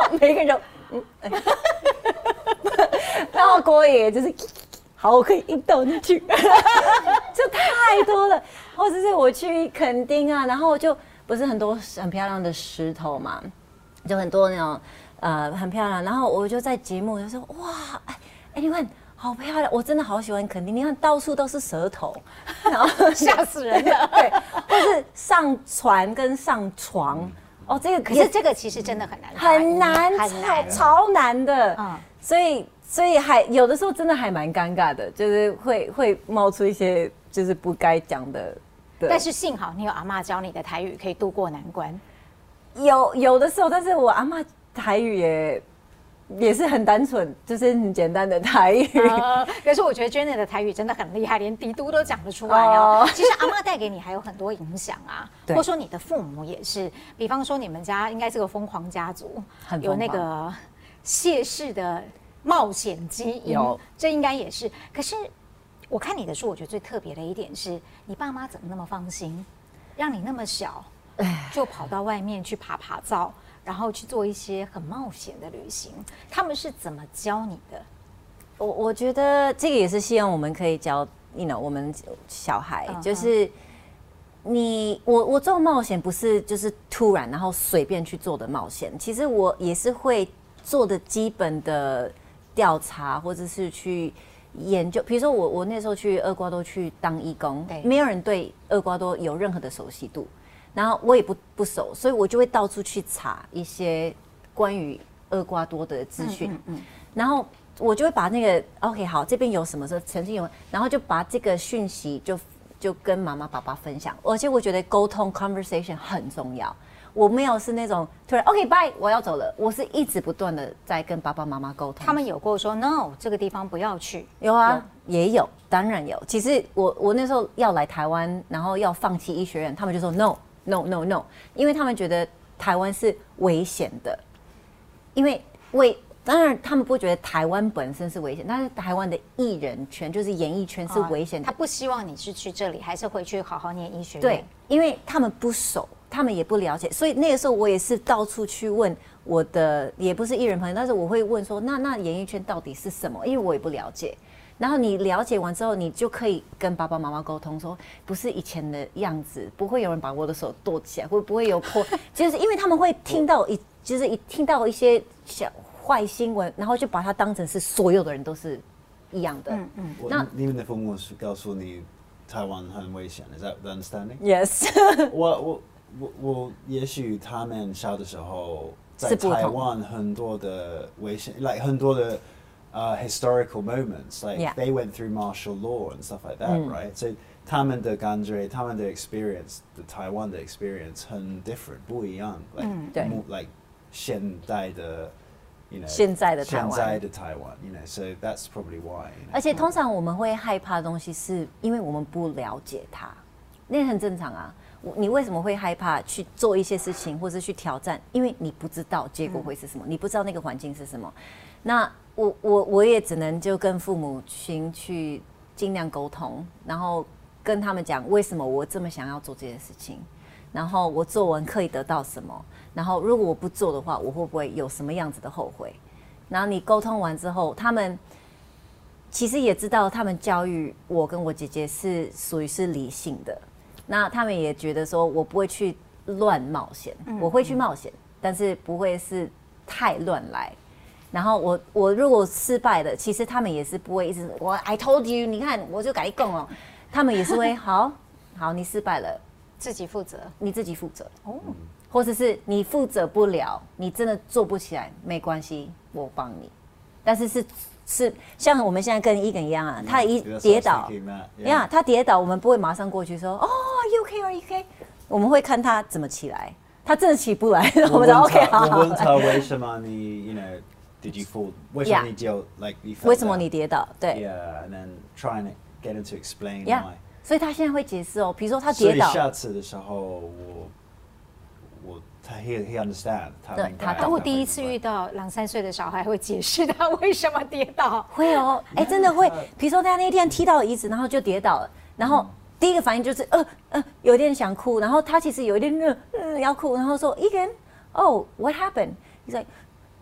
後每個人就嗯，哎、然後郭爺爺就是好，我可以硬倒進去，就太多了。或者是我去墾丁啊，然後就不是很多很漂亮的石頭嘛，就很多那種呃很漂亮，然後我就在節目就說哇，哎哎你們。好漂亮！我真的好喜歡墾丁，你看到處都是舌頭，然後嚇死人了。 對，或是上船跟上床，嗯、哦，這個可是這個其實真的很難， 很難， 很難， 超難的。嗯，所以所以還有的時候真的還蠻尷尬的，就是會會冒出一些就是不該講的。 但是幸好你有阿嬤教你的台語，可以度過難關。 有有的時候，但是我阿嬤台語也。也是很單純，就是很簡單的台語。 呃、可是我覺得 Janet 的台語真的很厲害，連嘀嘟都講得出來哦。其實阿嬤帶給你還有很多影響啊，或者說你的父母也是。比方說你們家應該是個瘋狂家族，有那個謝氏的冒險基因，這應該也是。可是我看你的書，我覺得最特別的一點是你爸媽怎麼那麼放心，讓你那麼小就跑到外面去爬爬灶。然後去做一些很冒險的旅行，他們是怎麼教你的？ 我我覺得這個也是希望我們可以教，you know，我們小孩， uh huh. 就是你我我做冒險不是就是突然然後隨便去做的冒險，其實我也是會做的基本的調查，或者是去研究。比如說我我那時候去厄瓜多去當義工，對，沒有人對厄瓜多有任何的熟悉度。然後我也不不熟，所以我就會到處去查一些關於厄瓜多的資訊，嗯嗯嗯、然後我就會把那個 OK 好，這邊有什麼時候曾經有，然後就把這個訊息就就跟媽媽爸爸分享，而且我覺得溝通 conversation 很重要。我沒有是那種突然 OK bye 我要走了，我是一直不斷的在跟爸爸媽媽溝通。 他們有過說 No 這個地方不要去？ 有啊，有也有，當然有。其實我我那時候要來台灣，然後要放棄醫學院，他們就說 No。No no no， 因為他們覺得台灣是危險的，因為為當然他們不覺得台灣本身是危險，但是台灣的藝人圈就是演藝圈是危險的、哦。他不希望你是去這裡，還是回去好好念醫學院。 對，因為他們不熟，他們也不了解，所以那個時候我也是到處去問我的，也不是藝人朋友，但是我會問說，那那演藝圈到底是什麼？因為我也不了解。然後你了解完之後，你就可以跟爸爸媽媽溝通說，不是以前的樣子，不會有人把我的手剁起來，會不會有破？就是因為他們會聽到一，就是一聽到一些小壞新聞，然後就把它當成是所有的人都是一樣的。嗯嗯。 那你們的父母是告訴你台灣很危險 ，Is that the understanding? Yes 我。我我我我也許他們小的時候在台灣很多的危險 ，like 很多的。Uh, historical moments, like yeah. they went through martial law and stuff like that, mm. right? So, 他們的感覺，他們的 experience, the Taiwan 的 experience 很 different, 不一樣 like, mm. more, like 現代的 you know, 現在的台灣， 現在的台灣 you know, so that's probably why. You know? 而且通常我們會害怕的東西，是因為我們不了解它，那很正常啊。你為什麼會害怕去做一些事情，或是去挑戰？因為你不知道結果會是什麼，嗯、你不知道那個環境是什麼。那我我我也只能就跟父母親去盡量溝通，然後跟他們講為什麼我這麼想要做這件事情，然後我做完可以得到什麼，然後如果我不做的話，我會不會有什麼樣子的後悔？然後你溝通完之後，他們其實也知道，他們教育我跟我姐姐是屬於是理性的。那他們也覺得說，我不會去亂冒險，嗯、我會去冒險，嗯、但是不會是太亂來。然後我我如果失敗了，其實他們也是不會一直我 I told you， 你看我就改講哦，他們也是會好好你失敗了， 自己負責， 你自己負責哦，或者是你負責不了，你真的做不起來，沒關係，我幫你。但是是是像我們現在跟Egan一樣啊，他一跌倒，呀，他跌倒，我們不會馬上過去說哦 ，You OK or you OK？ 我們會看他怎麼起來，他真的起不來，我們就 OK 好。 我問他為什麼你 ，you know。Did you fall? 為什麼你就 like you fell down? 為什麼你跌倒？對。 Yeah, and then trying to get him to explain yeah. why. 所以他現在會解釋哦，比如說他跌倒。 所以下次的時候，我我他 he he understand 他明白。 他我第一次遇到兩三歲的小孩會解釋他為什麼跌倒。 會哦，哎，真的會。比如說他那天踢到椅子，然後就跌倒了，然後第一個反應就是呃呃有點想哭，然後他其實有一點嗯、呃、要哭，然後說 Egan, oh what happened? He's like.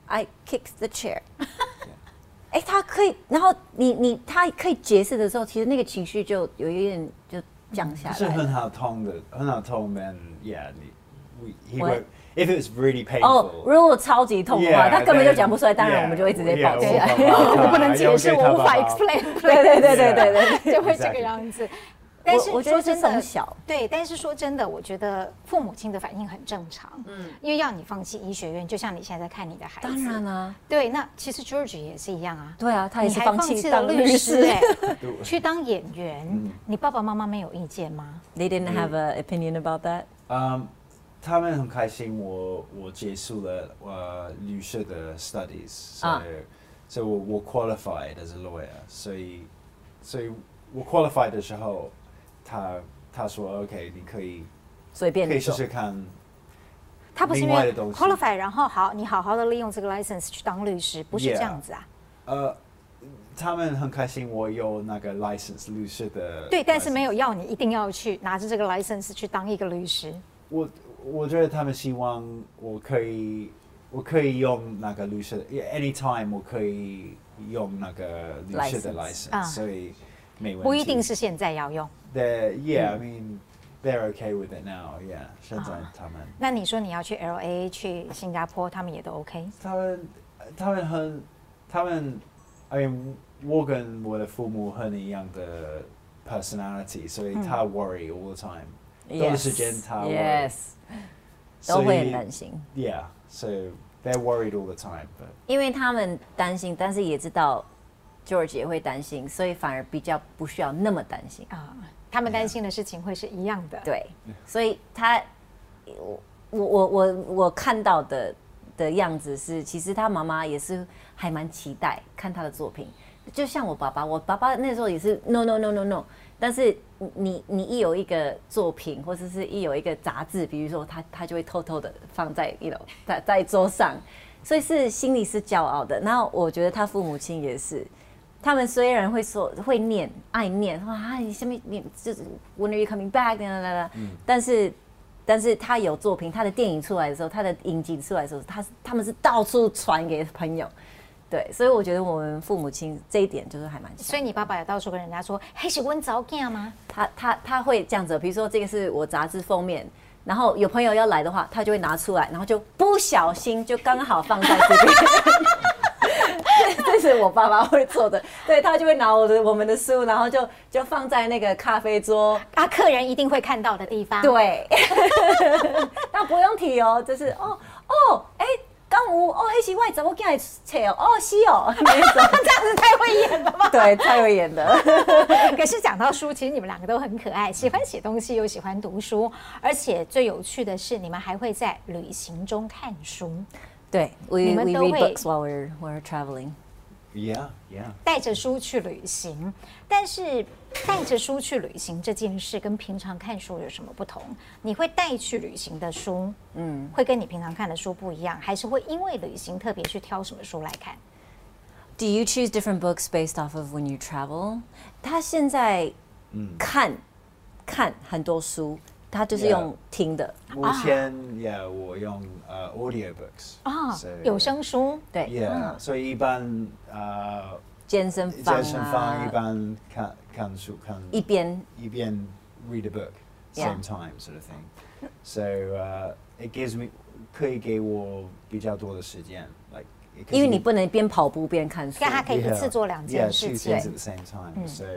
I kicked the chair。哎，他可以，然後你你他可以解釋的時候，其實那個情緒就有一點就降下來。 是很好痛的，很好痛 ，and yeah， 你 he won't if it was really painful。 哦，如果超級痛的話，他根本就講不出來，當然我們就會直接抱起來。 我不能解釋，我無法 explain。 對對對對對對， 就會這個樣子。但是我覺得是從小對，但是說真的，我覺得父母親的反應很正常，嗯，因為要你放棄醫學院，就像你現在在看你的孩子， 當然啊， 對，那其實 George 也是一樣啊， 對啊，他也是放棄當律師哎，去當演員， 嗯、 你爸爸媽媽沒有意見嗎 ？They didn't have an opinion about that. 嗯、um, 他們很開心我我結束了呃律師的 studies， 所以、啊、所以我我 qualified as a lawyer， 所以所以我 qualified 的時候，他。他說 ：“OK， 你可以隨便可以試試看。” 他不是因為 qualify， 然後好，你好好的利用這個 license 去當律師，不是這樣子啊？ Yeah. 呃，他們很開心我有那個 license 律師的。 對，但是沒有要你一定要去拿着這個 license 去當一個律師。 我我覺得他們希望我可以，我可以用那個律師 ，anytime 我可以用那個律師的 license，, license、uh, 所以沒問題。 不一定是現在要用。 They're, yeah, I mean, they're okay with it now. Yeah, 現在他們。 啊、那你說你要去 L A 去新加坡，他們也都 OK？ 他們他們很，他們 ，I mean， 我跟我的父母很一樣的 personality， 所以他 worry all the time。多的時間他 worry， 都會很擔心。 Yeah, so they're worried all the time. But 因為他們擔心，但是也知道 George 也會擔心，所以反而比較不需要那麼擔心啊。 他們擔心的事情會是一樣的， 對，所以他，我我我我看到的的樣子是，其實他媽媽也是還蠻期待看他的作品，就像我爸爸，我爸爸那時候也是 no no no no no， 但是你你一有一個作品，或者是一有一個雜誌，比如說他他就會偷偷的放在一樓在在桌上，所以是心裡是驕傲的。然後我覺得他父母親也是。他們雖然會說會念愛念，說啊你下面你就是 When are you coming back？、嗯、但是但是他有作品，他的電影出來的時候，他的影集出來的時候，他他們是到處傳給朋友，對，所以我覺得我們父母親這一點就是還蠻像。 所以你爸爸有到處跟人家說，嘿是溫早囝嗎？ 他他他會這樣子，比如說這個是我雜誌封面，然後有朋友要來的話，他就會拿出來，然後就不小心就剛好放在這邊。這是我爸爸會做的，對，他就會拿我的我們的書，然後就就放在那個咖啡桌， 啊，客人一定會看到的地方。 對，那不用提哦，就是哦哦，哎，剛吳哦，黑西外怎麼進來切哦？哦，是哦，這樣子太會演了吧？對，太會演的。 可是講到書，其實你們兩個都很可愛，喜歡寫東西又喜歡讀書，而且最有趣的是，你們還會在旅行中看書。 對 we, ，we we read books while we're we're traveling. Yeah, yeah. 帶着書去旅行，但是帶着書去旅行這件事跟平常看書有什麼不同？你會帶去旅行的書，嗯，會跟你平常看的書不一樣，還是會因為旅行特別去挑什麼書來看 ？Do you choose different books based off of when you travel? 他現在看、嗯、看很多書。他就是用聽的。 目前 ，yeah， 我用呃 audiobooks 啊，有聲書，對 ，yeah， 所以一般呃健身房健身房一般看看書看一邊一邊 read a book same time sort of thing。So it gives me 可以給我比較多的時間 ，like 因為你不能邊跑步邊看書， 但他可以一次做兩件事情。 Yeah, two things at the same time. So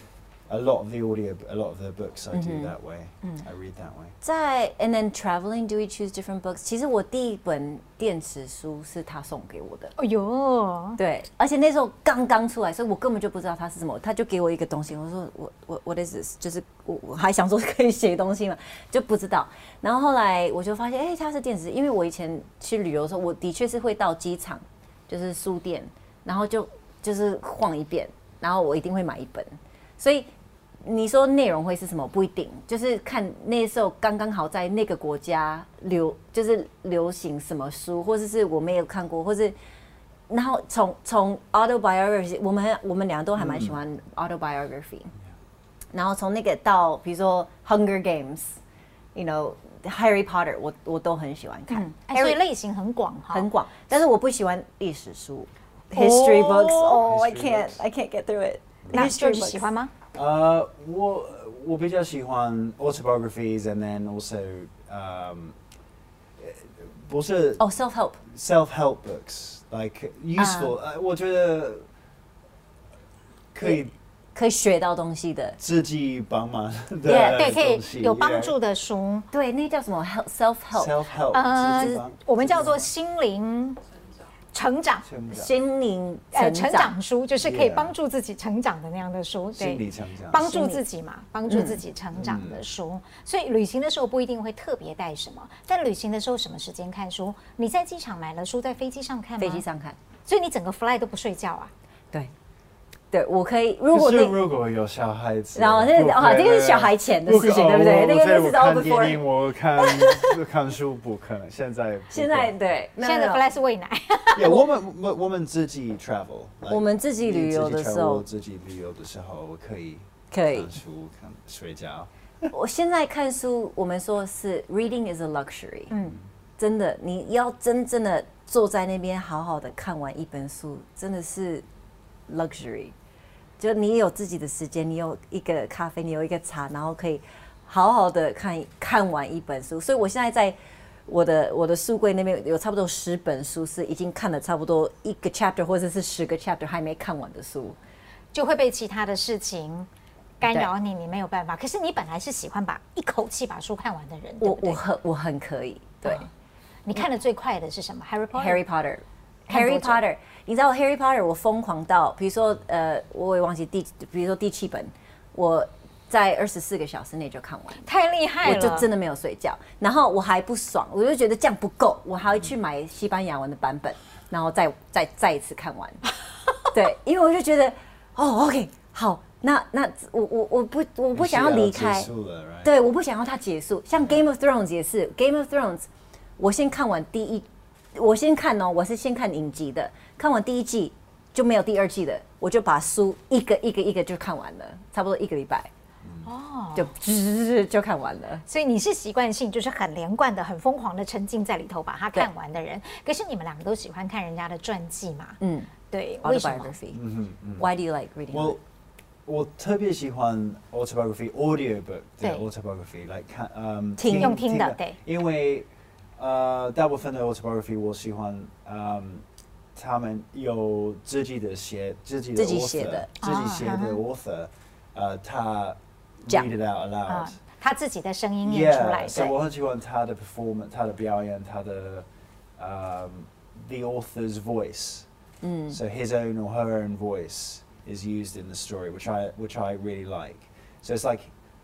a lot of the audio, a lot of the books I do that way. I read that way. 在 and then traveling, do we choose different books? 其實我第一本電子書是他送給我的。 哎呦， 對，而且那時候剛剛出來，所以我根本就不知道它是什麼，他就給我一個東西，我說我我 what is this？ 就是我我還想說可以寫東西嘛，就不知道。然後後來我就發現，哎，它是電子，因為我以前去旅遊的時候，我的確是會到機場，就是書店，然後就就是晃一遍，然後我一定會買一本，所以。你說內容會是什麼？不一定，就是看那時候剛剛好在那個國家流，就是流行什麼書，或者是我沒有看過，或是然後從從 autobiography， 我們我們兩個都還蠻喜歡 autobiography，、嗯、然後從那個到比如說 Hunger Games， you know Harry Potter 我我都很喜歡看， 嗯欸、所以類型很廣哈， 很廣。但是我不喜歡歷史書 ，history books，哦、oh, ，I can't I can't get through it。 那 George 喜歡嗎？ 呃，我我比較喜歡 autobiographies and then also um 不是哦、oh, self help self help books like useful，、uh, 我覺得可以。 可以學到東西的， 自己幫忙的， 對，可以有幫助的書， 對，那叫什麼 self help，self help， 呃，我們叫做心靈成長， 心靈呃成長書，就是可以幫助自己成長的那樣的書，對， 心理成長， 幫助自己嘛，幫助自己成長的書。所以旅行的時候不一定會特別帶什麼，但旅行的時候什麼時間看書？你在機場買了書，在飛機上看嗎？ 飛機上看， 所以你整個 fly 都不睡覺啊？ 對。對，我可以。如果那如果有小孩子， 然後那哦，這個是小孩前的事情，對不對？那個是 all before。 看電影，我看看書不可能。現在現在對， 現在的 fly 是餵奶。 Yeah， 我們我我們自己 travel， 我們自己旅遊的時候， 自己旅遊的時候可以可以看書看睡覺。 我現在看書，我們說是 reading is a luxury。嗯，真的，你要真正的坐在那邊好好的看完一本書，真的是 luxury。就你有自己的時間，你有一個咖啡，你有一個茶，然後可以好好的看看完一本書。所以我現在在我的我的書櫃那邊有差不多十本書是已經看了差不多一個 chapter 或者是十個 chapter 還沒看完的書， 就會被其他的事情干擾你，你沒有辦法。可是你本來是喜歡把一口氣把書看完的人，對不對？ 我我很我很可以。對，哦、 你看的最快的是什麼 ？Harry Potter。Harry Potter。Harry Potter， 你知道 Harry Potter 我瘋狂到，比如說呃，我也忘記第，比如說第七本，我在二十四個小時內就看完， 太厲害了， 我就真的沒有睡覺，然後我還不爽，我就覺得這樣不夠，我還會去買西班牙文的版本，然後再再再一次看完，對，因為我就覺得哦 ，OK， 好，那那我我我不我不想要離開，對，我不想要它結束，像 Game of Thrones 也是 ，Game of Thrones， 我先看完第一。我先看哦，我是先看影集的，看完第一季就沒有第二季的，我就把書一個一個一個就看完了，差不多一個禮拜，哦，就就就看完了。 所以你是習慣性就是很連貫的、很瘋狂的沉浸在裡頭把它看完的人。可是你們兩個都喜歡看人家的傳記嘛？嗯，對，為什麼？ 嗯嗯 Why do you like reading? 我我特別喜歡 autobiography audiobook 的 autobiography， 來看，嗯， 聽用聽的，對， 因為。呃，大部分的 autobiography 我喜歡，嗯，他們有自己的寫自己的 author, 自己寫的自己寫的 author，、oh, 呃，他 read it out aloud，、uh, 他自己的聲音念出來， yeah, 所以我很喜歡他的 performance， 他的表演，他的，嗯 the author's voice， 嗯 ，so his own or her own voice is used in the story, which I which I really like. So it's like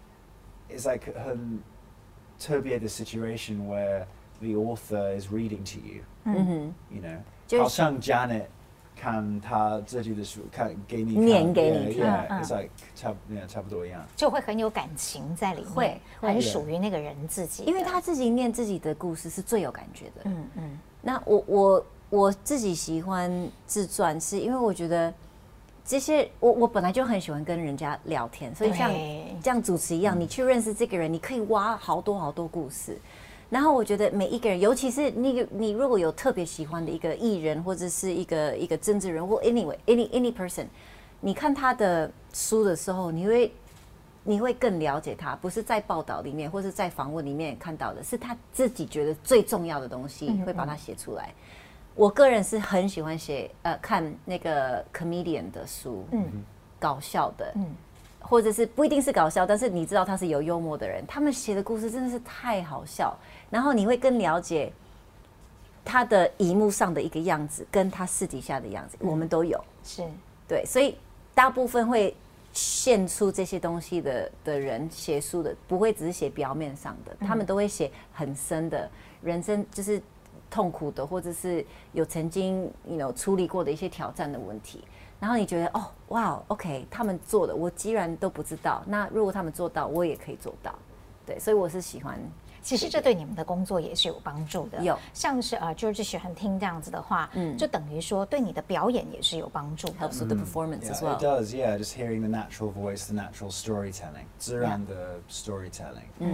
it's like 很特別的 situation where the author is reading to you, mm-hmm. you know. 好像 Janet 看他自己的書，看給你念給你聽 yeah, yeah, it's like 差, yeah, 差不多一樣， 就會很有感情在裡面，會很屬於那個人自己， 因為他自己念自己的故事是最有感覺的。嗯嗯。那我我我自己喜歡自傳，是因為我覺得這些我我本來就很喜歡跟人家聊天，所以像這樣主持一樣，你去認識這個人，你可以挖好多好多故事。然後我覺得每一個人，尤其是你你如果有特別喜歡的一個藝人，或者是一個一個政治人物 ，anyway any any person， 你看他的書的時候，你會你會更了解他，不是在報道裡面或是在訪問裡面看到的，是他自己覺得最重要的東西，會把它寫出來。嗯嗯，我個人是很喜歡寫呃看那個 comedian 的書，嗯，搞笑的，嗯。或者是不一定是搞笑，但是你知道他是有幽默的人，他們寫的故事真的是太好笑，然後你會更了解他的熒幕上的一個樣子，跟他私底下的樣子，嗯、我們都有， 是對，所以大部分會獻出這些東西的的人寫書的，不會只是寫表面上的，他們都會寫很深的人生，就是痛苦的，或者是有曾經有處理過的一些挑戰的問題。然後你覺得哦，哇 ，OK， 他們做的我既然都不知道，那如果他們做到，我也可以做到，對，所以我是喜歡。 其實這對你們的工作也是有幫助的。 有， 像是呃 George 喜歡聽這樣子的話，嗯，就等於說對你的表演也是有幫助的。 Helps with the performance as well. It does, yeah. Just hearing the natural voice, the natural storytelling, 自然的 storytelling. 嗯，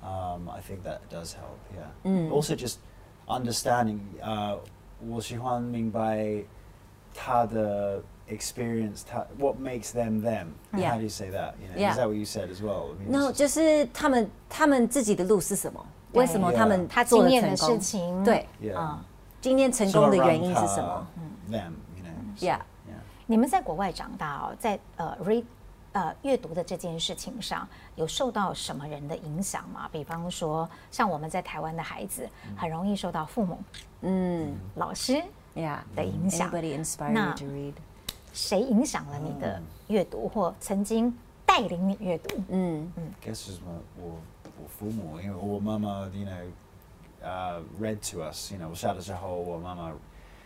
Um, I think that does help. Yeah. Mm. Also, just understanding. Uh, 我喜歡明白他的 experience. 他 what makes them them. Yeah. How do you say that? You know, yeah. Is that what you said as well? I mean, no, 就是他们他們自己的路是什麼？為什麼他們他做了成功？他經驗的事情。對。啊。今天成功的原因是什麼？ 嗯。Them, you know. Yeah. Yeah. 你們在國外長大哦，在呃 read 呃閱讀的這件事情上，有受到什麼人的影響嗎？比方說，像我們在台灣的孩子，很容易受到父母、嗯、老師 yeah 的影響。 Anybody inspire you to read？ 誰影響了你的閱讀，或曾經帶領你閱讀？嗯嗯。Guess 是我我父母，因為我媽媽 ，you know, uh, read to us. You know, 我小的時候，我媽媽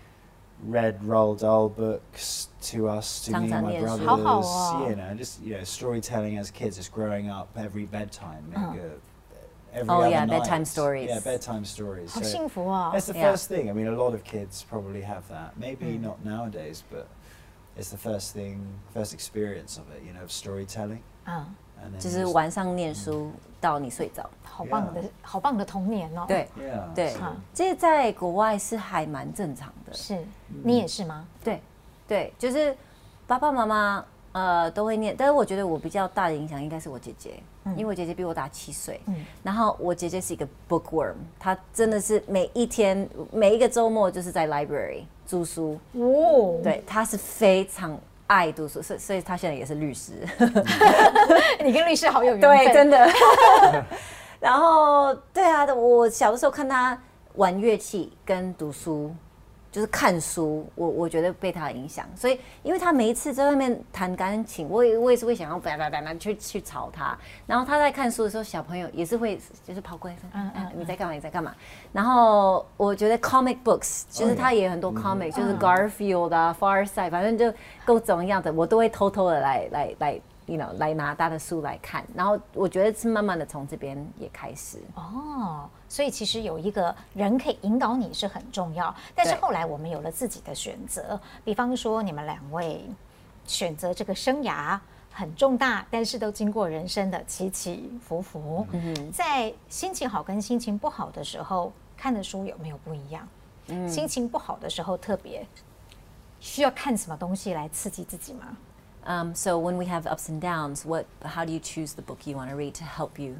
read Roald Dahl books to us, to me and my brothers. You know, just you know, storytelling as kids, just growing up every bedtime. Uh-huh. Like a, every oh other yeah, night. bedtime stories. Yeah, bedtime stories. 好幸福哦。 It's the yeah. first thing. I mean, a lot of kids probably have that. Maybe mm. not nowadays, but it's the first thing, first experience of it. You know, of storytelling. 啊。 就是晚上念書到你睡着， 好棒的，好棒的童年哦。 对，对，这在國外是還蠻正常的。 是，你也是嗎？ 對，對，就是爸爸媽媽呃都會念，但是我覺得我比較大的影響應該是我姐姐，因為我姐姐比我大七歲，然後我姐姐是一個 bookworm， 她真的是每一天每一個週末就是在 library 租書，哦，對，她是非常愛讀書，所以所以他現在也是律師。 你跟律師好有緣分。 對，真的。然後，對啊，我小的時候看他玩樂器跟讀書，就是看書，我我覺得被他影響。所以，因為他每一次在外面彈鋼琴，我也我也是會想要叭叭叭叭去去吵他。然後他在看書的時候，小朋友也是會就是跑過來說：“嗯嗯，你在幹嘛？你在幹嘛？”然後我覺得 comic books 就是他也有很多 comic，、嗯、就是 Garfield 啊、Far Side， 反正就各種樣的，我都會偷偷的來來來 ，you know， 來拿他的書來看。然後我覺得是慢慢的從這邊也開始。哦， 所以其實有一個人可以引導你是很重要。但是後來我們有了自己的選擇，比方說你們兩位選擇這個生涯很重大，但是都經過人生的起起伏伏。嗯、在心情好跟心情不好的時候，看的書有沒有不一樣？嗯、心情不好的時候特別需要看什麼東西來刺激自己嗎？ Um, so when we have ups and downs, what, how do you choose the book you want to read to help you?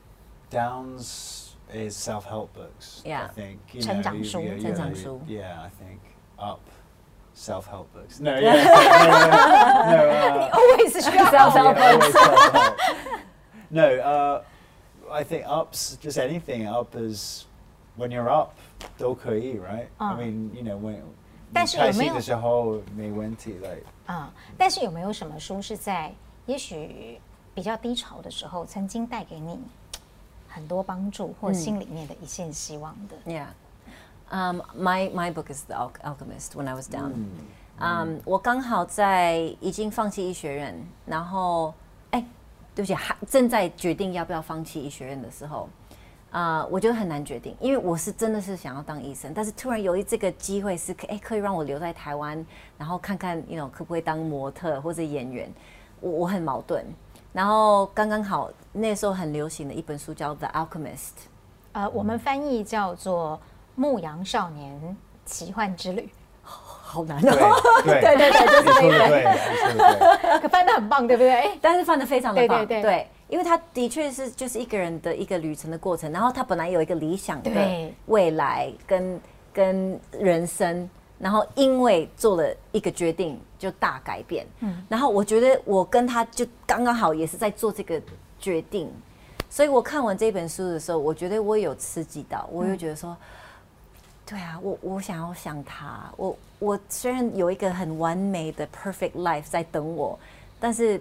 Downs is self-help books. Yeah. I think. You 成長書， know, you, you, 成長書。 Yeah, I think up self-help books. No, yeah, no, no, no, uh, 你 always 需要 self-help books. No, uh, I think ups, just anything up is when you're up, 都可以, right? Uh. I mean, you know, when 但是有沒有開心的時候沒問題 like 啊，但是有沒有什麼書是在也許比較低潮的時候，曾經帶給你很多幫助或心裡面的一線希望的？ Yeah, um, my my book is The Alchemist. When I was down, um, 我剛好在已經放棄醫學院，然後哎，對不起，還正在決定要不要放棄醫學院的時候。啊、uh, 我覺得很難決定，因為我是真的是想要當醫生，但是突然有一這個機會是可，哎，可以讓我留在台灣，然後看看 you know 可不可以當模特或者演員，我我很矛盾。然後剛剛好那時候很流行的一本書叫《The Alchemist》， 呃，我們翻譯叫做《牧羊少年奇幻之旅》。 好難哦！對對對對，就是那個， 可翻得很棒，對不對？ 但是翻得非常的棒， 對對對， 對，因為他的確是就是一個人的一個旅程的過程，然後他本來有一個理想的未來跟跟人生，然後因為做了一個決定就大改變，嗯，然後我覺得我跟他就剛剛好也是在做這個決定，所以我看完這本書的時候，我覺得我有刺激到，我又覺得說。嗯對啊，我我想要像他，我我雖然有一個很完美的 perfect life 在等我，但是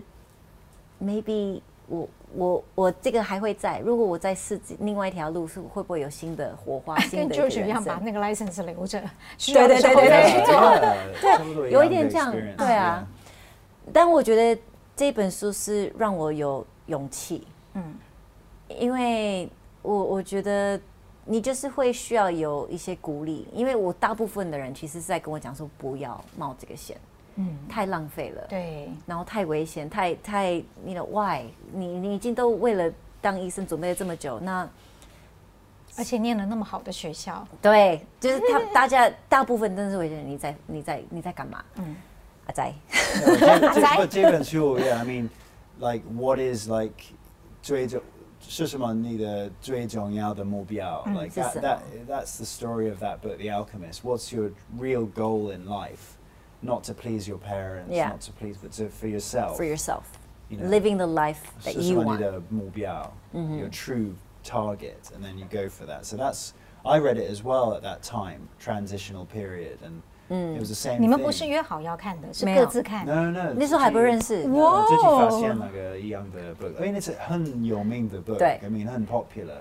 maybe 我我我這個還會在。如果我再試另外一條路，是會不會有新的火花？新的一個人生。跟 George 一樣，把那個 license 留着，需要的時候再去做。對，有一點這樣，對啊。但我覺得這本書是讓我有勇氣，嗯，因為我我覺得。你就是會需要有一些鼓勵，因為我大部分的人其實是在跟我講說不要冒這個險，嗯，太浪費了，對，然後太危險，太太，你的 why，你你已經都為了當醫生準備了這麼久，那而且念了那麼好的學校， 對，就是他大家大部分真的是會覺得你在你在你在幹嘛？嗯，阿仔， 阿仔，這本書 ，Yeah, I mean, like what is like 最重是什麼你的最重要的目標 ？Like that, that that's the story of that book, The Alchemist. What's your real goal in life? Not to please your parents, yeah. not to please, but to for yourself. For yourself, you know, living the life that you want. 是什麼你的目標 mm-hmm. Your true target, and then you go for that. So that's I read it as well at that time, transitional period, and mm. it was the same. 你們不是約好要看的，是各自看。 No, no. 那時候還不認識。 哇！自己發現那個一樣的 book. I mean, it's a 很有名的 book. 對。 I mean, 很 popular.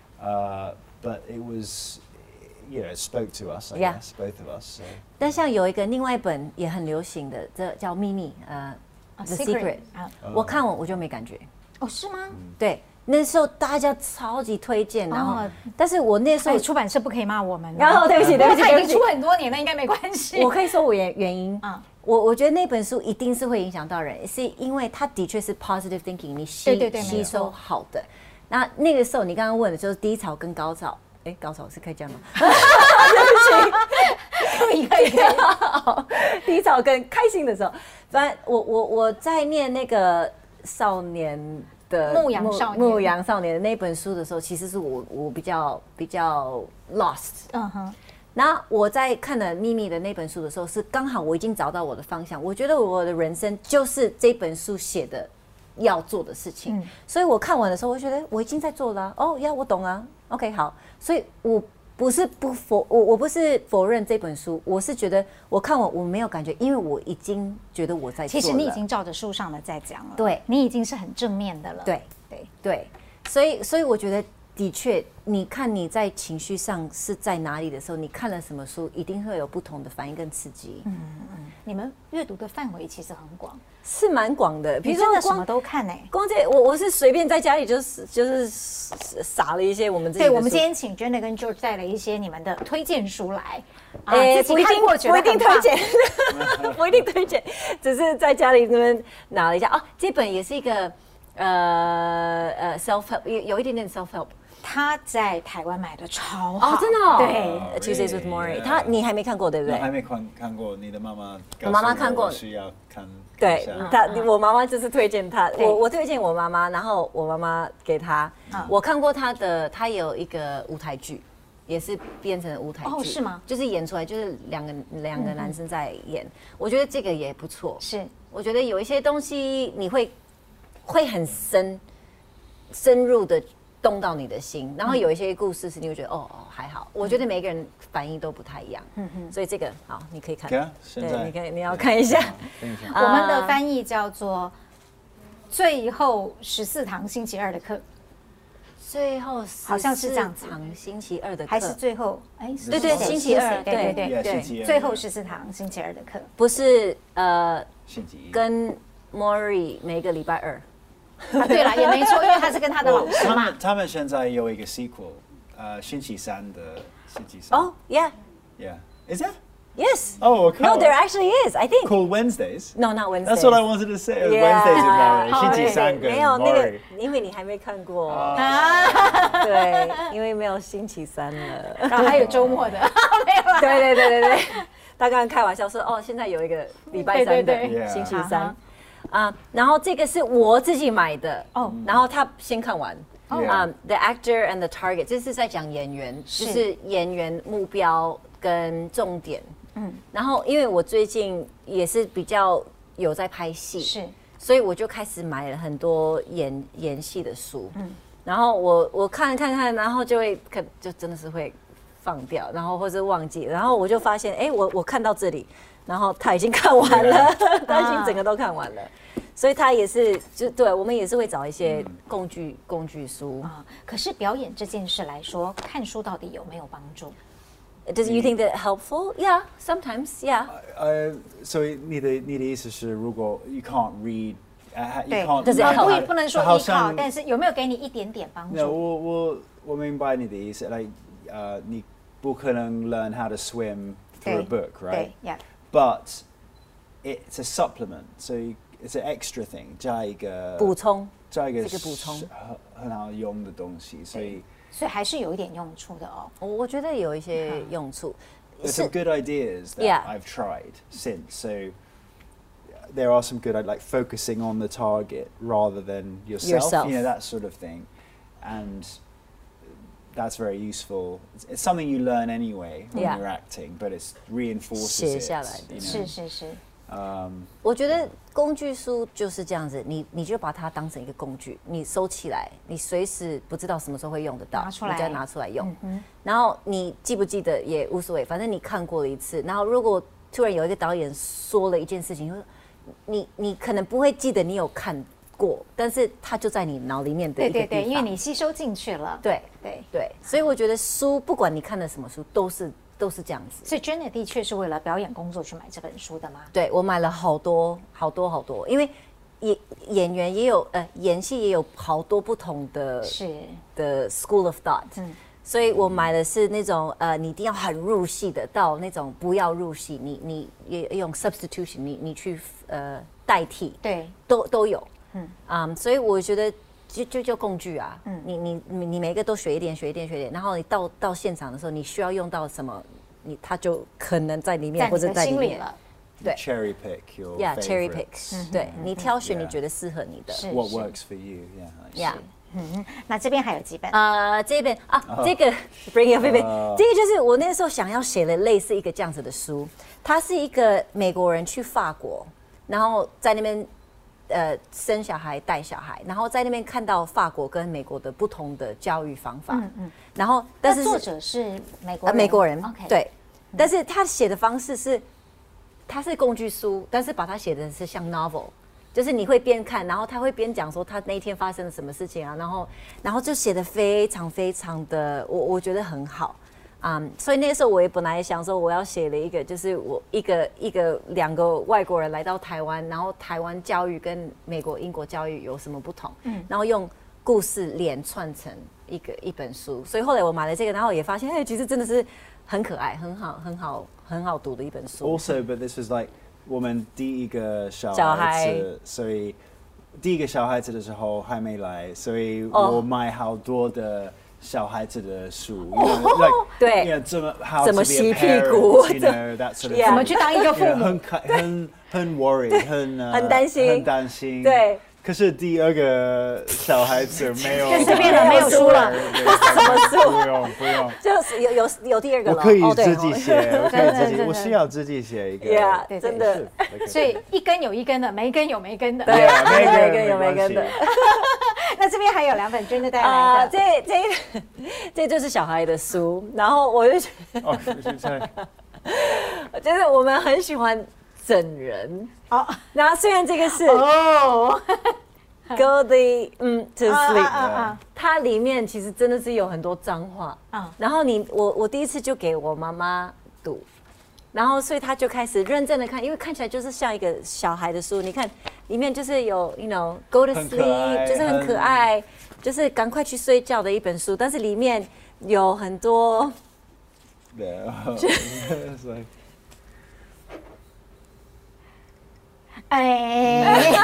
Uh, but it was, you know, it spoke to us, I yeah. guess, both of us. So. 但像有一個另外一本也很流行的，這叫秘密，呃 ，The Secret。我看完我就沒感覺。 哦，是嗎？ 對。那時候大家超級推薦，然後，但是我那時候出版社不可以罵我們。 然後對不起，对不起， 他已經出很多年了，應該沒關係。 我可以說我原原因啊，我我覺得那本書一定是會影響到人，是因為它的確是 positive thinking， 你吸吸收好的。那那個時候你剛剛問的就是低潮跟高潮，哎，高潮是可以這樣嗎？對不起，可以可以可以。低潮跟開心的時候，反正我我我在念那個少年。 牧羊少年， 牧羊少年的那本書的時候，其實是我我比較比較 lost。嗯哼。那我在看了《秘密》的那本書的時候，是剛好我已經找到我的方向。我覺得我的人生就是這本書寫的要做的事情。嗯、所以我看完的時候，我覺得我已經在做了、啊。哦呀，我懂啊。OK， 好。所以我不是不否我我不是否認這本書，我是覺得我看完我沒有感覺，因為我已經覺得我在做了。 其實你已經照着書上的在講了， 對， 你已經是很正面的了。 對對對，所以所以我覺得的確，你看你在情緒上是在哪裡的時候，你看了什麼書，一定會有不同的反應跟刺激。嗯嗯，你們閱讀的範圍其實很廣。 是蠻廣的， 比如說什麼都看哎、欸， 光這我我是隨便在家裡就是就是撒了一些我們自己的書。 對，我們今天請 Jenna 跟 George 帶了一些你們的推薦書來， 哎、欸，不一定不一定推薦，不一定推薦，只是在家裡那邊拿了一下啊。這本也是一個呃呃 self help， 有有一點點 self help。 他在台灣買的超好， 哦，真的哦。 對 ，Tuesdays with Morrie， 他你還沒看過對不對？ 還沒看看過，你的媽媽， 我媽媽看過， 需要看。 對，他我媽媽就是推薦他，我我推薦我媽媽，然後我媽媽給他。我看過他的，他有一個舞台劇，也是變成舞台劇。 哦，是嗎？ 就是演出來，就是兩個兩個男生在演，我覺得這個也不錯。 是， 我覺得有一些東西你會會很深深入的。動到你的心，然後有一些故事是你會覺得、嗯、哦哦還好，我覺得每個人反應都不太一樣，嗯嗯，所以這個好，你可以看， 對， 你可以你要看一下。 我們的翻譯叫做《最後十四堂星期二的課》， 最後好像是這樣子， 堂星期二的課， 還是最後？哎， 對對，星期二， 對對對對，最後十四堂星期二的課， 不是呃，跟 Morrie 每個禮拜二。 啊，對了，也沒錯，因為他是跟他的老師嘛。 他們他們現在有一個 sequel， 呃，星期三的星期三。 Oh, yeah, yeah. Is it? Yes. Oh, okay. No, there actually is. I think. Called Wednesdays. No, not Wednesdays. That's what I wanted to say. Wednesdays with Morrie. 星期三跟 Morrie。 沒有那個，因為你還沒看過。啊。對，因為沒有星期三了。 然後還有週末的，沒有。 對對對對對，他剛剛開玩笑說，哦，現在有一一個禮拜三的星期三。啊， uh, 然後這個是我自己買的哦， oh. 然後他先看完，啊、oh. um, ，The Actor and the Target， 這是在講演員，是就是演員目標跟重點，嗯，然後因為我最近也是比較有在拍戲，是，所以我就開始買了很多演演戲的書，嗯，然後我我看看看，然後就會可就真的是會放掉，然後或者忘記，然後我就發現，哎，我我看到這裡。然後他已經看完了， yeah. 他已經整個都看完了，所以他也是就對我們也是會找一些工具、嗯、工具書啊。 可是表演這件事來說，看書到底有沒有幫助 ？Does you think that helpful? Yeah, sometimes. Yeah. 呃，所以你的你的意思是，如果 you can't read, uh, you can't. 對，不不能說依靠，但是有沒有給你一點點幫助？ 我我我明白你的意思 ，like 呃，你不可能 learn how to swim through a book, right? Yeah. But it's a supplement. So it's an extra thing， 加一個補充， 加一個這個補充很很好用的東西，所以所以還是有一點用處的哦。 我我覺得有一些用處。 There's some good ideas that Yeah. I've tried since. So there are some good, like focusing on the target rather than yourself, yourself. you know, that sort of thing. And that's very useful. It's, it's something you learn anyway when Yeah. you're acting, but it reinforces 寫 it. 下來的。 You know? 是是是。 Um, 我覺得工具書就是這樣子，你你就把它當成一個工具，你收起來，你隨時不知道什麼時候會用得到， 拿出來你再拿出來用。 嗯、 然後你記不記得也無所謂，反正你看過了一次。然後如果突然有一個導演說了一件事情，你你可能不會記得你有看過，但是它就在你腦裡面的一個地方。 對對對，因為你吸收進去了。 對對對，所以我覺得書不管你看的什麼書，都是。都是這樣子， 所以 Janet 的確是為了表演工作去買這本書的嗎？ 對，我買了好多好多好多，因為演演員也有呃演戲也有好多不同的是的 school of thought，嗯，所以我買的是那種呃你一定要很入戲的，到那種不要入戲，你你也用 substitution， 你你去呃代替， 對， 都都有，嗯啊、um, 所以我覺得。就就就工具啊，嗯，你你你你每一個都學一點學一點學一點，然後你到到現場的時候，你需要用到什麼，你它就可能在裡面或者在裡面了。對 ，cherry pick your yeah cherry pick， 嗯、 對你挑選你覺得適合你的。 What works for you？ Yeah， yeah。 嗯，那這邊還有幾本？ 呃，這本啊，這個 Bring It Baby， 這個就是我那時候想要寫的類似一個這樣子的書，它是一個美國人去法國，然後在那邊。呃，生小孩帶小孩，然後在那邊看到法國跟美國的不同的教育方法，嗯嗯，然後但是作者是美國人， 呃、美國人 ，OK， 對，嗯、但是他寫的方式是，他是工具書，但是把他寫的是像 novel， 就是你會邊看，然後他會邊講說他那一天發生了什麼事情啊，然後然後就寫的非常非常的，我我覺得很好。Um, 所以那時候我也本來想說我要寫了一個，就是我一個一個兩個外國人來到台灣，然後台灣教育跟美國英國教育有什麼不同，嗯，然後用故事連串成一個一本書。所以後來我買了這個，然後也發現，哎，其實真的是很可愛、很好、很好、很好讀的一本書。 Also, but this was like 我們第一個小孩子，所以第一個小孩子的時候還沒來，所以我買好多的。小孩子的書， 對， 怎麼怎麼洗屁股， 怎麼去當一個父母， 很很很 worry， 很很擔心， 很擔心， 對。 可是第二個小孩子沒有， 這邊的沒有書了， 什麼書？ 不用不用， 就是有有有第二個了。 我可以自己寫，我可以自己，我需要自己寫一個。 Yeah，真的。 所以一根有一根的，沒根有沒根的。 對，沒根有沒根的。 那這邊還有兩本真的帶來的， 這這這就是小孩的書，然後我就覺得，哦，就是我們很喜歡。整人哦，然後雖然這個是哦 ，Go the 嗯 to sleep， 啊啊啊它裡面其實真的是有很多髒話啊。然後你我我第一次就給我媽媽讀，然後所以她就開始認真的看，因為看起來就是像一個小孩的書。你看裡面就是有 you know Go to sleep， 就是很可愛，就是趕快去睡覺的一本書。但是裡面有很多，對， 哎，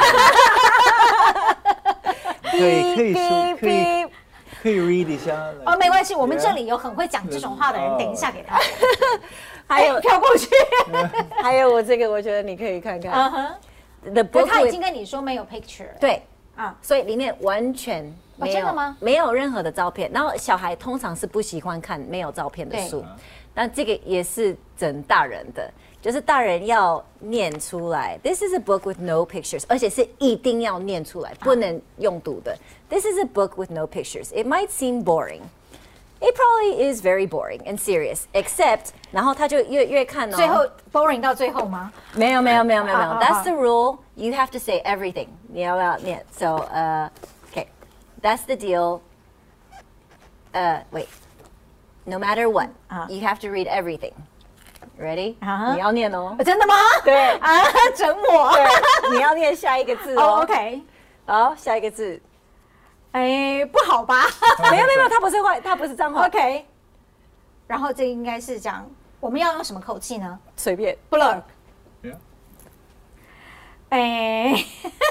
可以可以說可以可以 read 一下哦，沒關係，我們這裡有很會講這種話的人，等一下給他。 還有飄過去， 還有我這個，我覺得你可以看看。嗯哼 The book， 他已經跟你說沒有 picture， 對啊，所以裡面完全沒有，真的嗎？沒有任何的照片。然後小孩通常是不喜歡看沒有照片的書，但這個也是整大人的。就是大人要念出來 ，This is a book with no pictures， 而且是一定要念出來，不能用讀的。This is a book with no pictures. It might seem boring. It probably is very boring and serious. Except， 然後他就越越看哦， 最後 boring 到最後嗎？ 沒有沒有沒有沒有沒有。That's the rule. You have to say everything. 你要不要念 ？So, uh, okay, that's the deal. Uh, wait. No matter what, you have to read everything.Ready？、Uh-huh. 你要念哦， 真的嗎？ 對啊，整我。 對，你要念下一個字哦。 Oh, OK， 好，下一個字。 哎，不好吧？ 沒有沒有，它不是壞，它不是髒話。 OK。然後這應該是講，我們要用什麼口氣呢？ 隨便。 Blur。 哎。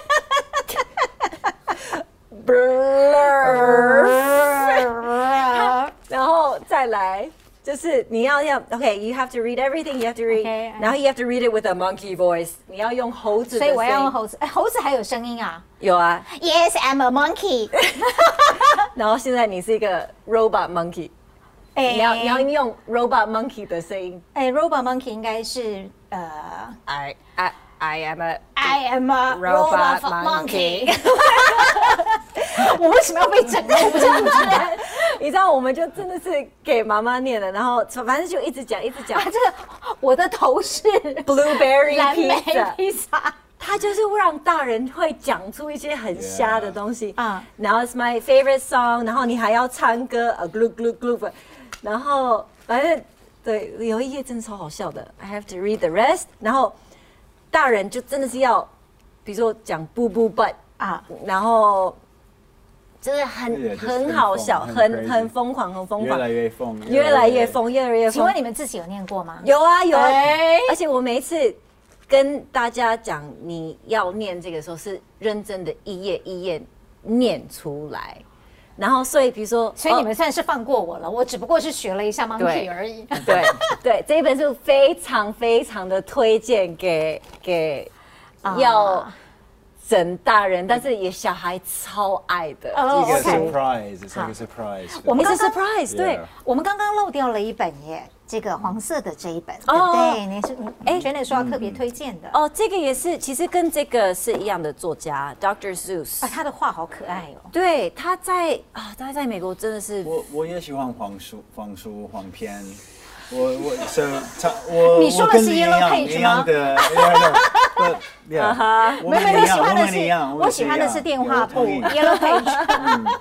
然後再來就是你要要 OK，you have to read everything, you have to read， 然後 you have to read it with a monkey voice， 你要用猴子的聲音， 所以我要用猴子，哎，猴子還有聲音啊？ 有啊 ，Yes, I'm a monkey 。 然後現在你是一個 robot monkey， 你要你要用 robot monkey 的聲音， 哎 ，robot monkey 應該是呃 ，I I I am a I am a robot monkey。我為什麼要被整？我不知道。 你知道，我們就真的是給媽媽念的，然後反正就一直講，一直講。 啊，這個我的頭是 blueberry 藍莓披薩， 它就是會讓大人會講出一些很瞎的東西啊。 Yeah. 然後 it's my favorite song， 然後你還要唱歌啊 ，glue glue glue， 然後反正對，有一頁真的超好笑的 ，I have to read the rest。然後大人就真的是要，比如說講 boo boo butt 啊，然後。真的很 yeah, 很好笑，很很瘋狂，很瘋狂， 越來越瘋， 越來越瘋，越來越瘋。 請問你們自己有念過嗎？ 有啊有啊，而且我每一次跟大家講你要念這個時候，是認真的一頁一頁念出來。然後所以比如說， 所以你們算是放過我了，我只不過是學了一下 monkey 而已。 對對，這一本書非常非常的推薦給給要。整大人，但是也小孩超愛的。 哦，一個 surprise， 一個 surprise。 我們剛剛 surprise， 對， 我們剛剛漏掉了一本耶，這個黃色的這一本，對不對？你是哎，Janet說要特別推薦的。 哦，這個也是，其實跟這個是一樣的作家 ，Doctor Seuss。 啊，他的畫好可愛哦。 對，他在啊，他在美國真的是。 我我也喜歡黃書、黃書、黃片。我我 so 他我你說的是 Yellow Page 嗎？ 對呀， 沒有沒有，你喜歡的是我喜歡的是電話簿 Yellow Page。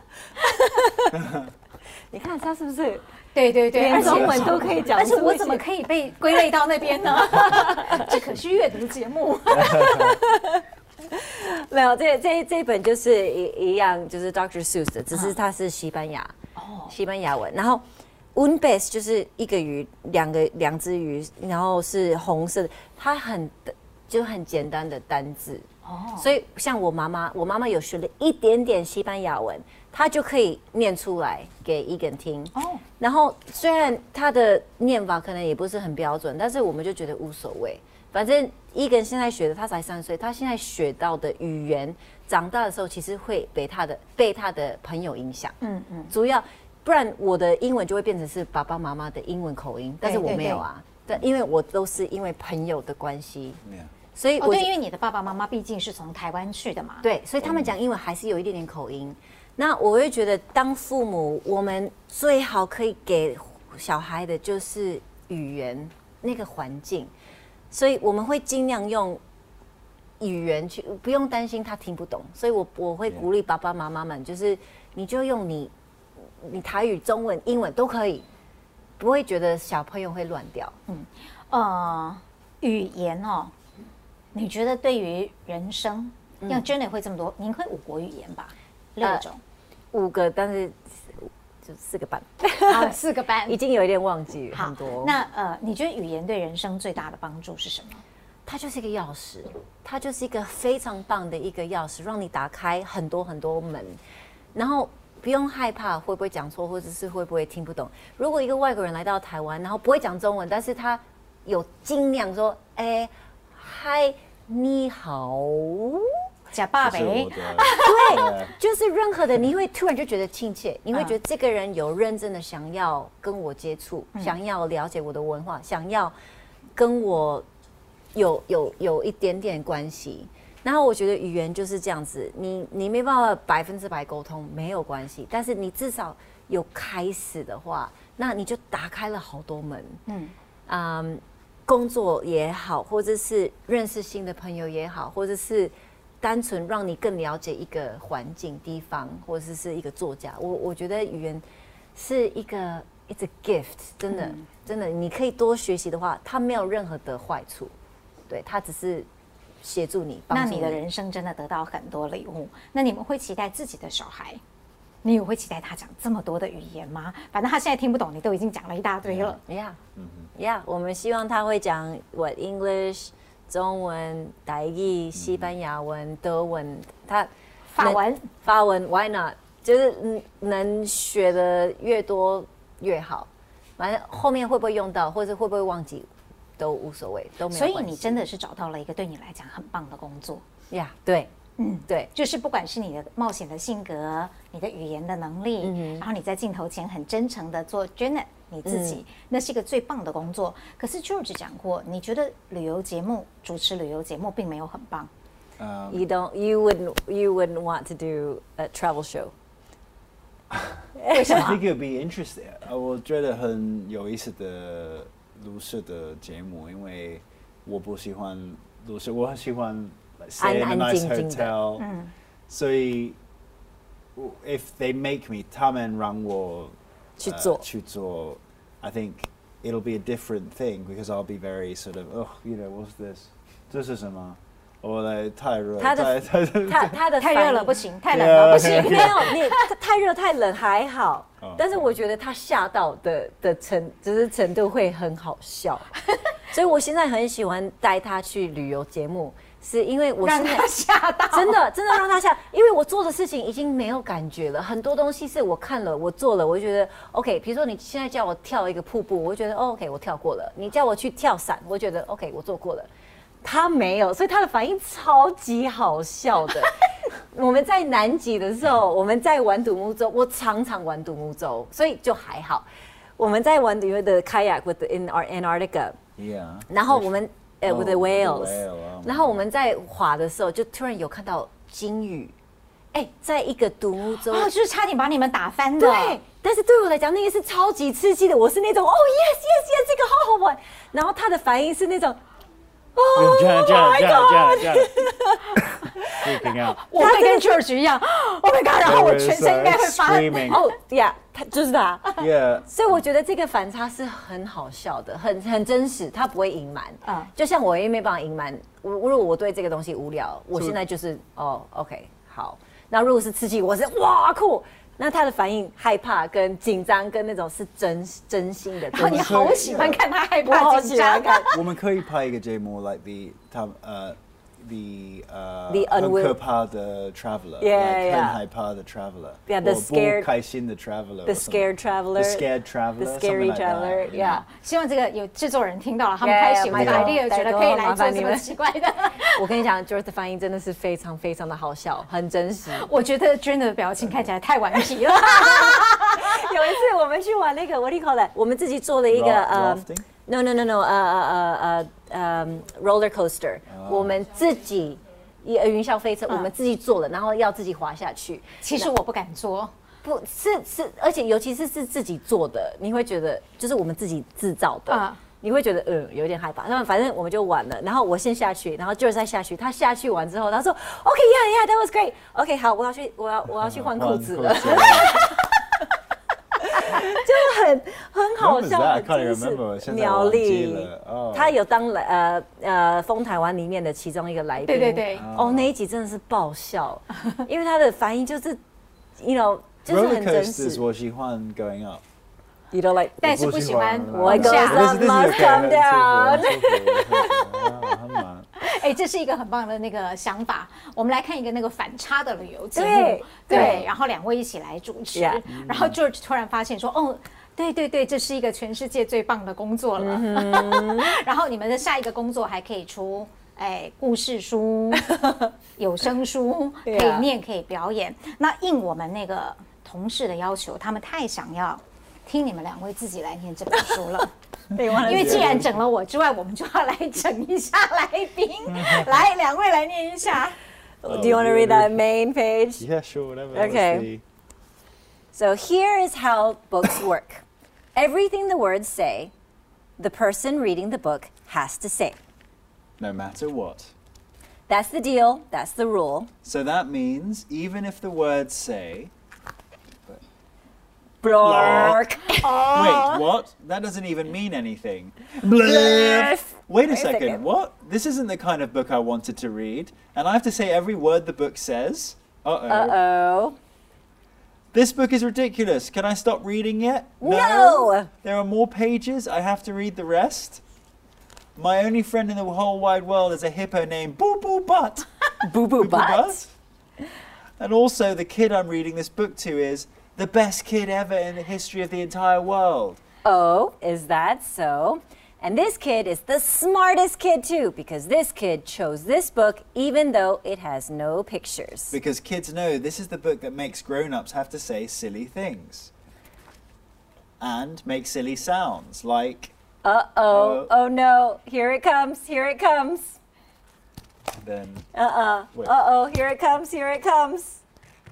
你看他是不是？ 對對對， 連中文都可以講。 但是我怎麼可以被歸類到那邊呢？這可是閱讀節目。 沒有，這這這一本就是一一樣，就是 Doctor Seuss 的，只是它是西班牙哦，西班牙文，然後。Un pez 就是一個魚，兩個兩隻魚，然後是紅色的，它很就很簡單的單字哦，所以像我媽媽，我媽媽有學了一點點西班牙文，她就可以念出來給Egan聽哦。然後雖然她的念法可能也不是很標準，但是我們就覺得無所謂，反正Egan現在學的，他才三歲，他現在學到的語言，長大的時候其實會被他的被他的朋友影響，嗯嗯，主要。不然我的英文就會變成是爸爸媽媽的英文口音，但是我沒有啊，對，對，對，因為我都是因為朋友的關係，所以我、哦、 對，因為你的爸爸媽媽畢竟是從台灣去的嘛， 對，所以他們講英文還是有一點點口音。那我會覺得當父母，我們最好可以給小孩的就是語言那個環境，所以我們會盡量用語言去，不用擔心他聽不懂。所以我我會鼓勵爸爸媽媽們，就是你就用你。你台語、中文、英文都可以，不會覺得小朋友會亂掉。嗯， 呃，語言哦，你覺得對於人生，像、嗯、Janet 會這麼多，您會五國語言吧？六種、 呃，五個，但是就四個班。 啊，四個班， 已經有一點忘記好很多。 那呃，你覺得語言對人生最大的幫助是什麼？ 它就是一個鑰匙，它就是一個非常棒的一個鑰匙，讓你打開很多很多門，然後。不用害怕會不會講錯，或者是會不會聽不懂。如果一個外國人來到台灣，然後不會講中文，但是他有盡量說：“哎，嗨，你好， 假爸爸。”對， 就是任何的，你會突然就覺得親切，你會覺得這個人有認真的想要跟我接觸，嗯、想要了解我的文化，想要跟我有有有一點點關係。然後我覺得語言就是這樣子，你你沒辦法百分之百溝通沒有關係，但是你至少有開始的話，那你就打開了好多門。嗯，嗯，工作也好，或者是認識新的朋友也好，或者是單純讓你更了解一個環境、地方，或者是一個作家。我我覺得語言是一個 it's a gift， 真的、嗯、真的，你可以多學習的話，它沒有任何的壞處，對，它只是。協助你，幫助你， 那你的人生真的得到很多禮物。那你們會期待自己的小孩，你也會期待他講這麼多的語言嗎？反正他現在聽不懂，你都已經講了一大堆了。 Yeah， yeah， yeah， 我們希望他會講 what English, 中文、台語、西班牙文、德文，他法文， 法文 ，Why not？ 就是能學的越多越好。反正後面會不會用到，或者會不會忘記，都無所謂，都沒有關係。 所以你真的是找到了一個對你來講很棒的工作呀， yeah, 對。嗯，對， 就是不管是你的冒險的性格，你的語言的能力，嗯、然後你在鏡頭前很真誠的做 Janet 你自己，嗯、那是一個最棒的工作。可是 George 講過，你覺得旅遊節目主持旅遊節目並沒有很棒。 Um, you don't, you wouldn't, you wouldn't want to do a travel show. 為什麼 I think it would be interesting. 我覺得很有意思的錄攝的節目，因為我不喜歡錄攝，我很喜歡。Stay in a nice hotel. 所以 if they make me, 他們讓我去做去做 I think it'll be a different thing because I'll be very sort of, oh, you know, what's this? 這是什麼？我來太熱， 他的他他的太熱了不行，太冷了不行。 沒有你太熱太冷還好，但是我覺得他嚇到的的程就是程度會很好笑，所以我現在很喜歡帶他去旅遊節目。是因為我現在讓他嚇到， 真的真的讓他嚇，因為我做的事情已經沒有感覺了，很多東西是我看了我做了，我就覺得 OK。比如說你現在叫我跳一個瀑布，我就覺得、哦、OK 我跳過了。你叫我去跳傘，我覺得 OK 我做過了。他沒有，所以他的反應超級好笑的。我們在南極的時候，我們在玩獨木舟，我常常玩獨木舟，所以就還好。我們在玩的 kayak with the, in Antarctica，yeah. 然後我們。呃 with the whales， 然後我們在滑的時候，就突然有看到鯨魚，哎，在一個獨木舟， 哦，就是差點把你們打翻的。 對，但是對我來講，那個是超級刺激的。我是那種，哦 yes yes yes，這個好好玩。然後他的反應是那種，哦， 這樣這樣這樣這樣。 我會跟 George 一樣 ，Oh my god！ 然後我全身應該會發， 哦呀，他就是他。 Yeah。 所以我覺得這個反差是很好笑的，很很真實，他不會隱瞞。嗯，就像我也沒辦法隱瞞，我如果我對這個東西無聊，我現在就是哦 ，OK， 好。那如果是刺激，我是哇酷。那他的反應害怕跟緊張跟那種是真真心的。然後你好喜歡看他害怕緊張感。 我們可以拍一個節目 ，like the 他呃。The uh, the 很可怕的 traveler, yeah, like, yeah. 很害怕的 traveler, yeah, the scared, 不開心的 traveler, the scared traveler, the scared traveler, the scary traveler, like yeah. 希望這個有製作人聽到了，他們太喜歡這個 idea， 覺得可以來做這麼奇怪的。 我跟你講 ，George 的反應真的是非常非常的好笑，很真實。 我覺得 Janet 的表情看起來太頑皮了。 有一次我們去玩那個 What do you call that？ 我們自己做了一個呃。No no no no， 呃呃呃呃 roller coaster，oh. 我們自己雲霄飛車，嗯、我們自己做了，然後要自己滑下去。 其實我不敢做， 不是是，而且尤其是是自己做的，你會覺得就是我們自己製造的，嗯、你會覺得嗯有點害怕。那反正我們就玩了，然後我先下去，然後 George 再下去。他下去完之後，他說 OK yeah yeah that was great。OK 好，我要去我要我要去換褲子了。就很很好笑，很真實。苗栗，他有當呃呃風台灣裡面的其中一個來賓。 對對對。 哦，那一集真的是爆笑，因為他的反應就是 ，you know， 就是很真實。 我喜歡 going up。 You don't like， 但是不喜歡我 goes up must come down。 哎，這是一個很棒的那個想法。我們來看一個那個反差的旅遊節目，對，然後兩位一起來主持，然後 George 突然發現說，哦，對對對，這是一個全世界最棒的工作了。然後你們的下一個工作還可以出，哎，故事書、有聲書，可以念，可以表演。那應我們那個同事的要求，他們太想要聽你們兩位自己來念這本書了。因為既然整了我之外，我們就要來整一下來賓。來，兩位來念一下。 Do you want to read that main page? Yeah, sure, whatever. Okay. So here is how books work. Everything the words say, the person reading the book has to say. No matter what. That's the deal. That's the rule. So that means even if the words say... Blurk. Oh. Wait, what? That doesn't even mean anything. Blurf. Wait a Wait second. second. What? This isn't the kind of book I wanted to read. And I have to say every word the book says? Uh-oh. Uh-oh. This book is ridiculous. Can I stop reading yet? No. no. There are more pages. I have to read the rest. My only friend in the whole wide world is a hippo named Boo Boo Butt. Boo Boo Butt. And also, the kid I'm reading this book to is the best kid ever in the history of the entire world. Oh, is that so? And this kid is the smartest kid too, because this kid chose this book even though it has no pictures. Because kids know this is the book that makes grown-ups have to say silly things. And make silly sounds, like... Uh-oh, uh, oh no, here it comes, here it comes. Then... Uh-uh, uh-oh, here it comes, here it comes.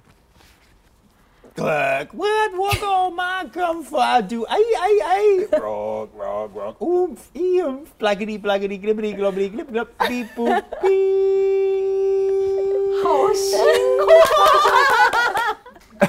Cluck, what, what all my comfort do? Ay, ay, ay. Rock, rock, rock. Oomph, eemph, blaggity, blaggity, glibbity, globbity, glib, glub, beep, boop, beep. 好辛苦。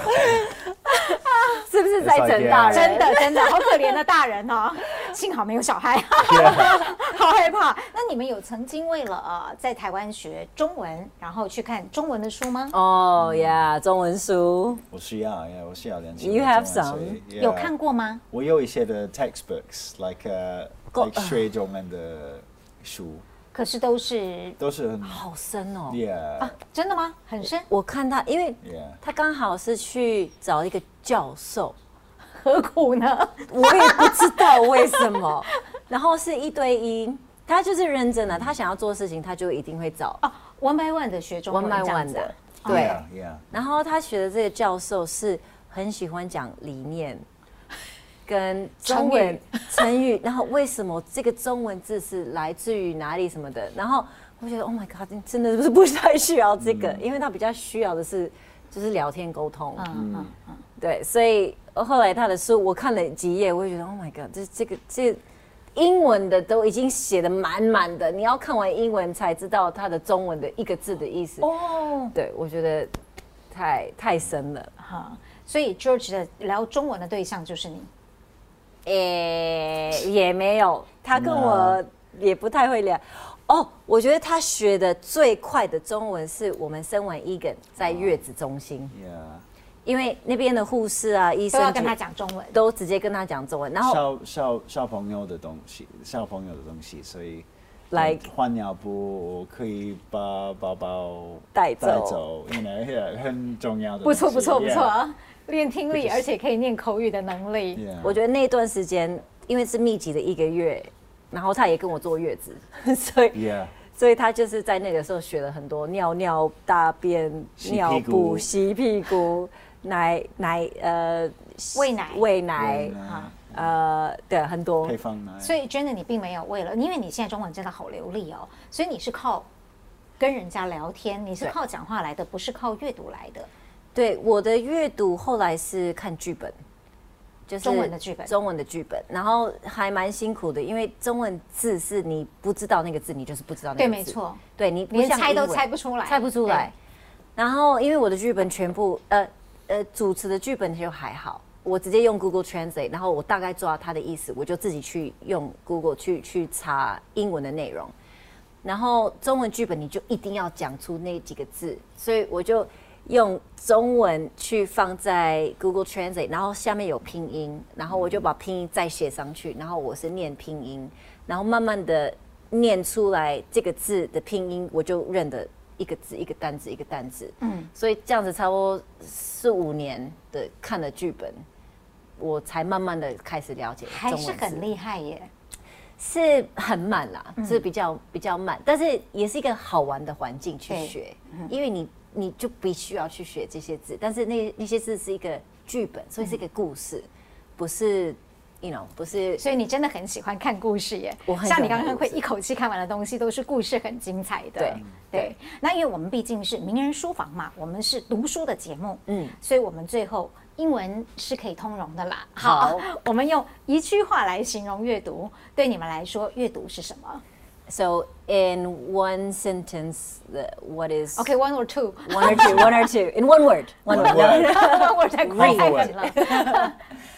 是不是在整大人？ 真的真的好可怜的大人哦，幸好没有小孩，好害怕。那你们有曾经为了呃在台湾学中文，然後去看中文的書嗎？ 哦呀，中文書。 我需要，呀，我需要練習。 You have some？ 有看過嗎？ 我有一些的 textbooks, like uh, like 學中文的書。 可是都是都是很好深哦 ，Yeah 啊，真的嗎？很深。 我看他，因為他剛好是去找一個教授， 何苦呢？ 我也不知道為什麼。然後是一對一，他就是認真的，他想要做事情，他就一定會找哦 ，one by one 的學中文 ，one by one 的，對。Yeah, yeah. 然後他學的這個教授是很喜歡講理念。跟中文成語，然後為什麼這個中文字是來自於哪裡什麼的，然後我覺得 Oh my God， 真的是不太需要這個，嗯、因為他比較需要的是就是聊天溝通，嗯嗯嗯，對，所以後來他的書我看了幾頁，我就覺得 Oh my God， 這這個這個、英文的都已經寫得滿滿的，你要看完英文才知道他的中文的一個字的意思，哦，對，我覺得太太深了，哈， 所以 George 的聊中文的對象就是你。 誒、欸，也沒有，他跟我也不太會聊。哦，我覺得他學的最快的中文是我們生完 Egan 在月子中心， Yeah. 因為那邊的護士啊、醫生都要跟他講中文， 都直接跟他講中文。然後小小小朋友的東西，小朋友的東西，所以 like 換尿布可以把寶寶帶走， 帶走，因為很重要的。 不錯不錯不錯。練聽力，而且可以念口語的能力。 Yeah. 我覺得那段時間，因為是密集的一個月，然後他也跟我坐月子，所以， Yeah. 所以他就是在那個時候學了很多尿尿、大便、尿布、洗屁股、奶奶呃餵奶、 餵奶，呃，對，很多配方奶。 所以 Jenna 你並沒有為了，因為你現在中文真的好流利哦，所以你是靠跟人家聊天，你是靠講話來的，不是靠閱讀來的。 對，我的閱讀後來是看劇本，就是中文的劇本， 中文的劇本，然後還蠻辛苦的，因為中文字是你不知道那個字，你就是不知道那個字。對，沒錯。對，你連猜都猜不出來， 猜不出來。然後因為我的劇本全部，呃呃，主持的劇本就還好，我直接用 Google Translate， 然後我大概抓它的意思，我就自己去用 Google 去去查英文的內容。然後中文劇本你就一定要講出那幾個字，所以我就用中文去放在 Google Translate， 然後下面有拼音，然後我就把拼音再寫上去，然後我是念拼音，然後慢慢的念出來這個字的拼音，我就認得一個字一個單字一個單字。嗯，所以這樣子差不多四五年的看了劇本，我才慢慢的開始了解中文字。 還是很厲害耶。 是很慢啦，嗯、是比較比較慢，但是也是一個好玩的環境去學，嗯、因為你你就必須要去學這些字，但是那那些字是一個劇本，所以是一個故事，嗯、不是 you know 不是， 所以你真的很喜歡看故事耶。 我很喜歡看故事， 像你剛剛會一口氣看完的東西都是故事很精彩的。 對對，對，那因為我們畢竟是名人書房嘛，我們是讀書的節目，嗯，所以我們最後英文是可以通融的啦。好，我們用一句話來形容閱讀，對你們來說，閱讀是什麼？ So in one sentence, what is? Okay, one or two. One or two. One or two. In one word. One word. One word. 太快了。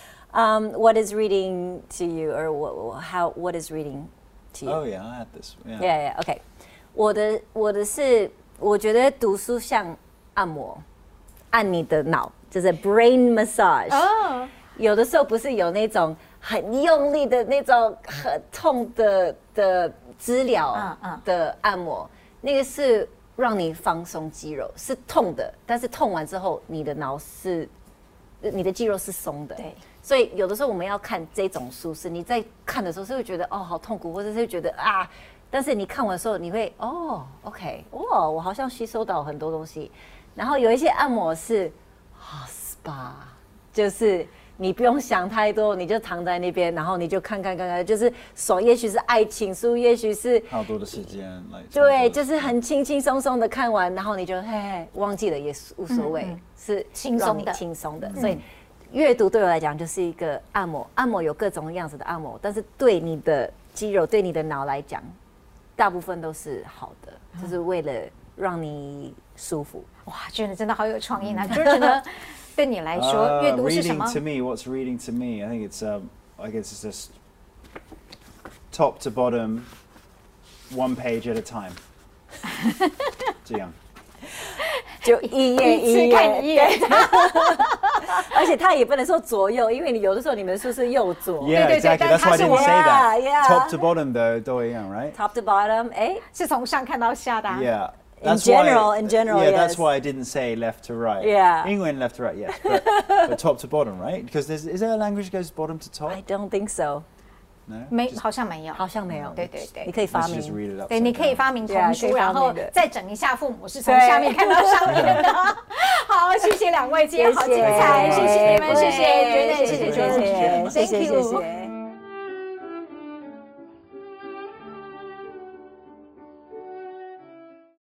Um, what is reading to you, or what, how? What is reading to you? Oh yeah, I had this. Yeah, yeah. yeah. Okay. 我的我的是，我覺得讀書像按摩，按你的腦。就是 brain massage，、oh. 有的時候不是有那種很用力的那種很痛的的資料的按摩，嗯嗯、那個是讓你放鬆肌肉，是痛的，但是痛完之後，你的腦是，你的肌肉是鬆的。對，所以有的時候我們要看這種書，是你在看的時候是會覺得哦好痛苦，或者是會覺得啊，但是你看完的時候你會哦 OK 哇，我好像吸收到很多東西。然後有一些按摩是啊 SPA， 就是你不用想太多，你就躺在那邊，然後你就看看看看，就是手也許是愛情書，也許是好多的時間， 對，就是很輕輕鬆鬆的看完，然後你就嘿嘿忘記了也無所謂，嗯嗯是輕鬆的輕鬆的。所以閱讀對我來講就是一個按摩，按摩有各種樣子的按摩，但是對你的肌肉、對你的腦來講，大部分都是好的，就是為了讓你舒服。 哇，真的真的好有創意呢！就是觉得对你來說，閱讀是什麼 ？Reading to me, what's reading to me? I think it's um, I guess it's just top to bottom, one page at a time. 這樣， 就一頁一頁一頁，而且他也不能說左右，因為你有的時候你們書是右左。 Yeah, exactly. That's why I didn't say that. Yeah. Top to bottom 的都一樣 right? Top to bottom, 哎， 是從上看到下的。 Yeah. In general, in general, yeah, yes. that's why I didn't say left to right. Yeah. England left to right, yes, but, but top to bottom, right? Because there's is there a language that goes bottom to top? I don't think so. No. 沒，好像沒有， 好像沒有。 對對對， 你可以發明。 對，你可以發明童書，然後再整一下父母是從下面看到上面的。好，謝謝兩位，今天好精彩，謝謝你們，謝謝，絕對謝謝，謝謝，謝謝，謝謝。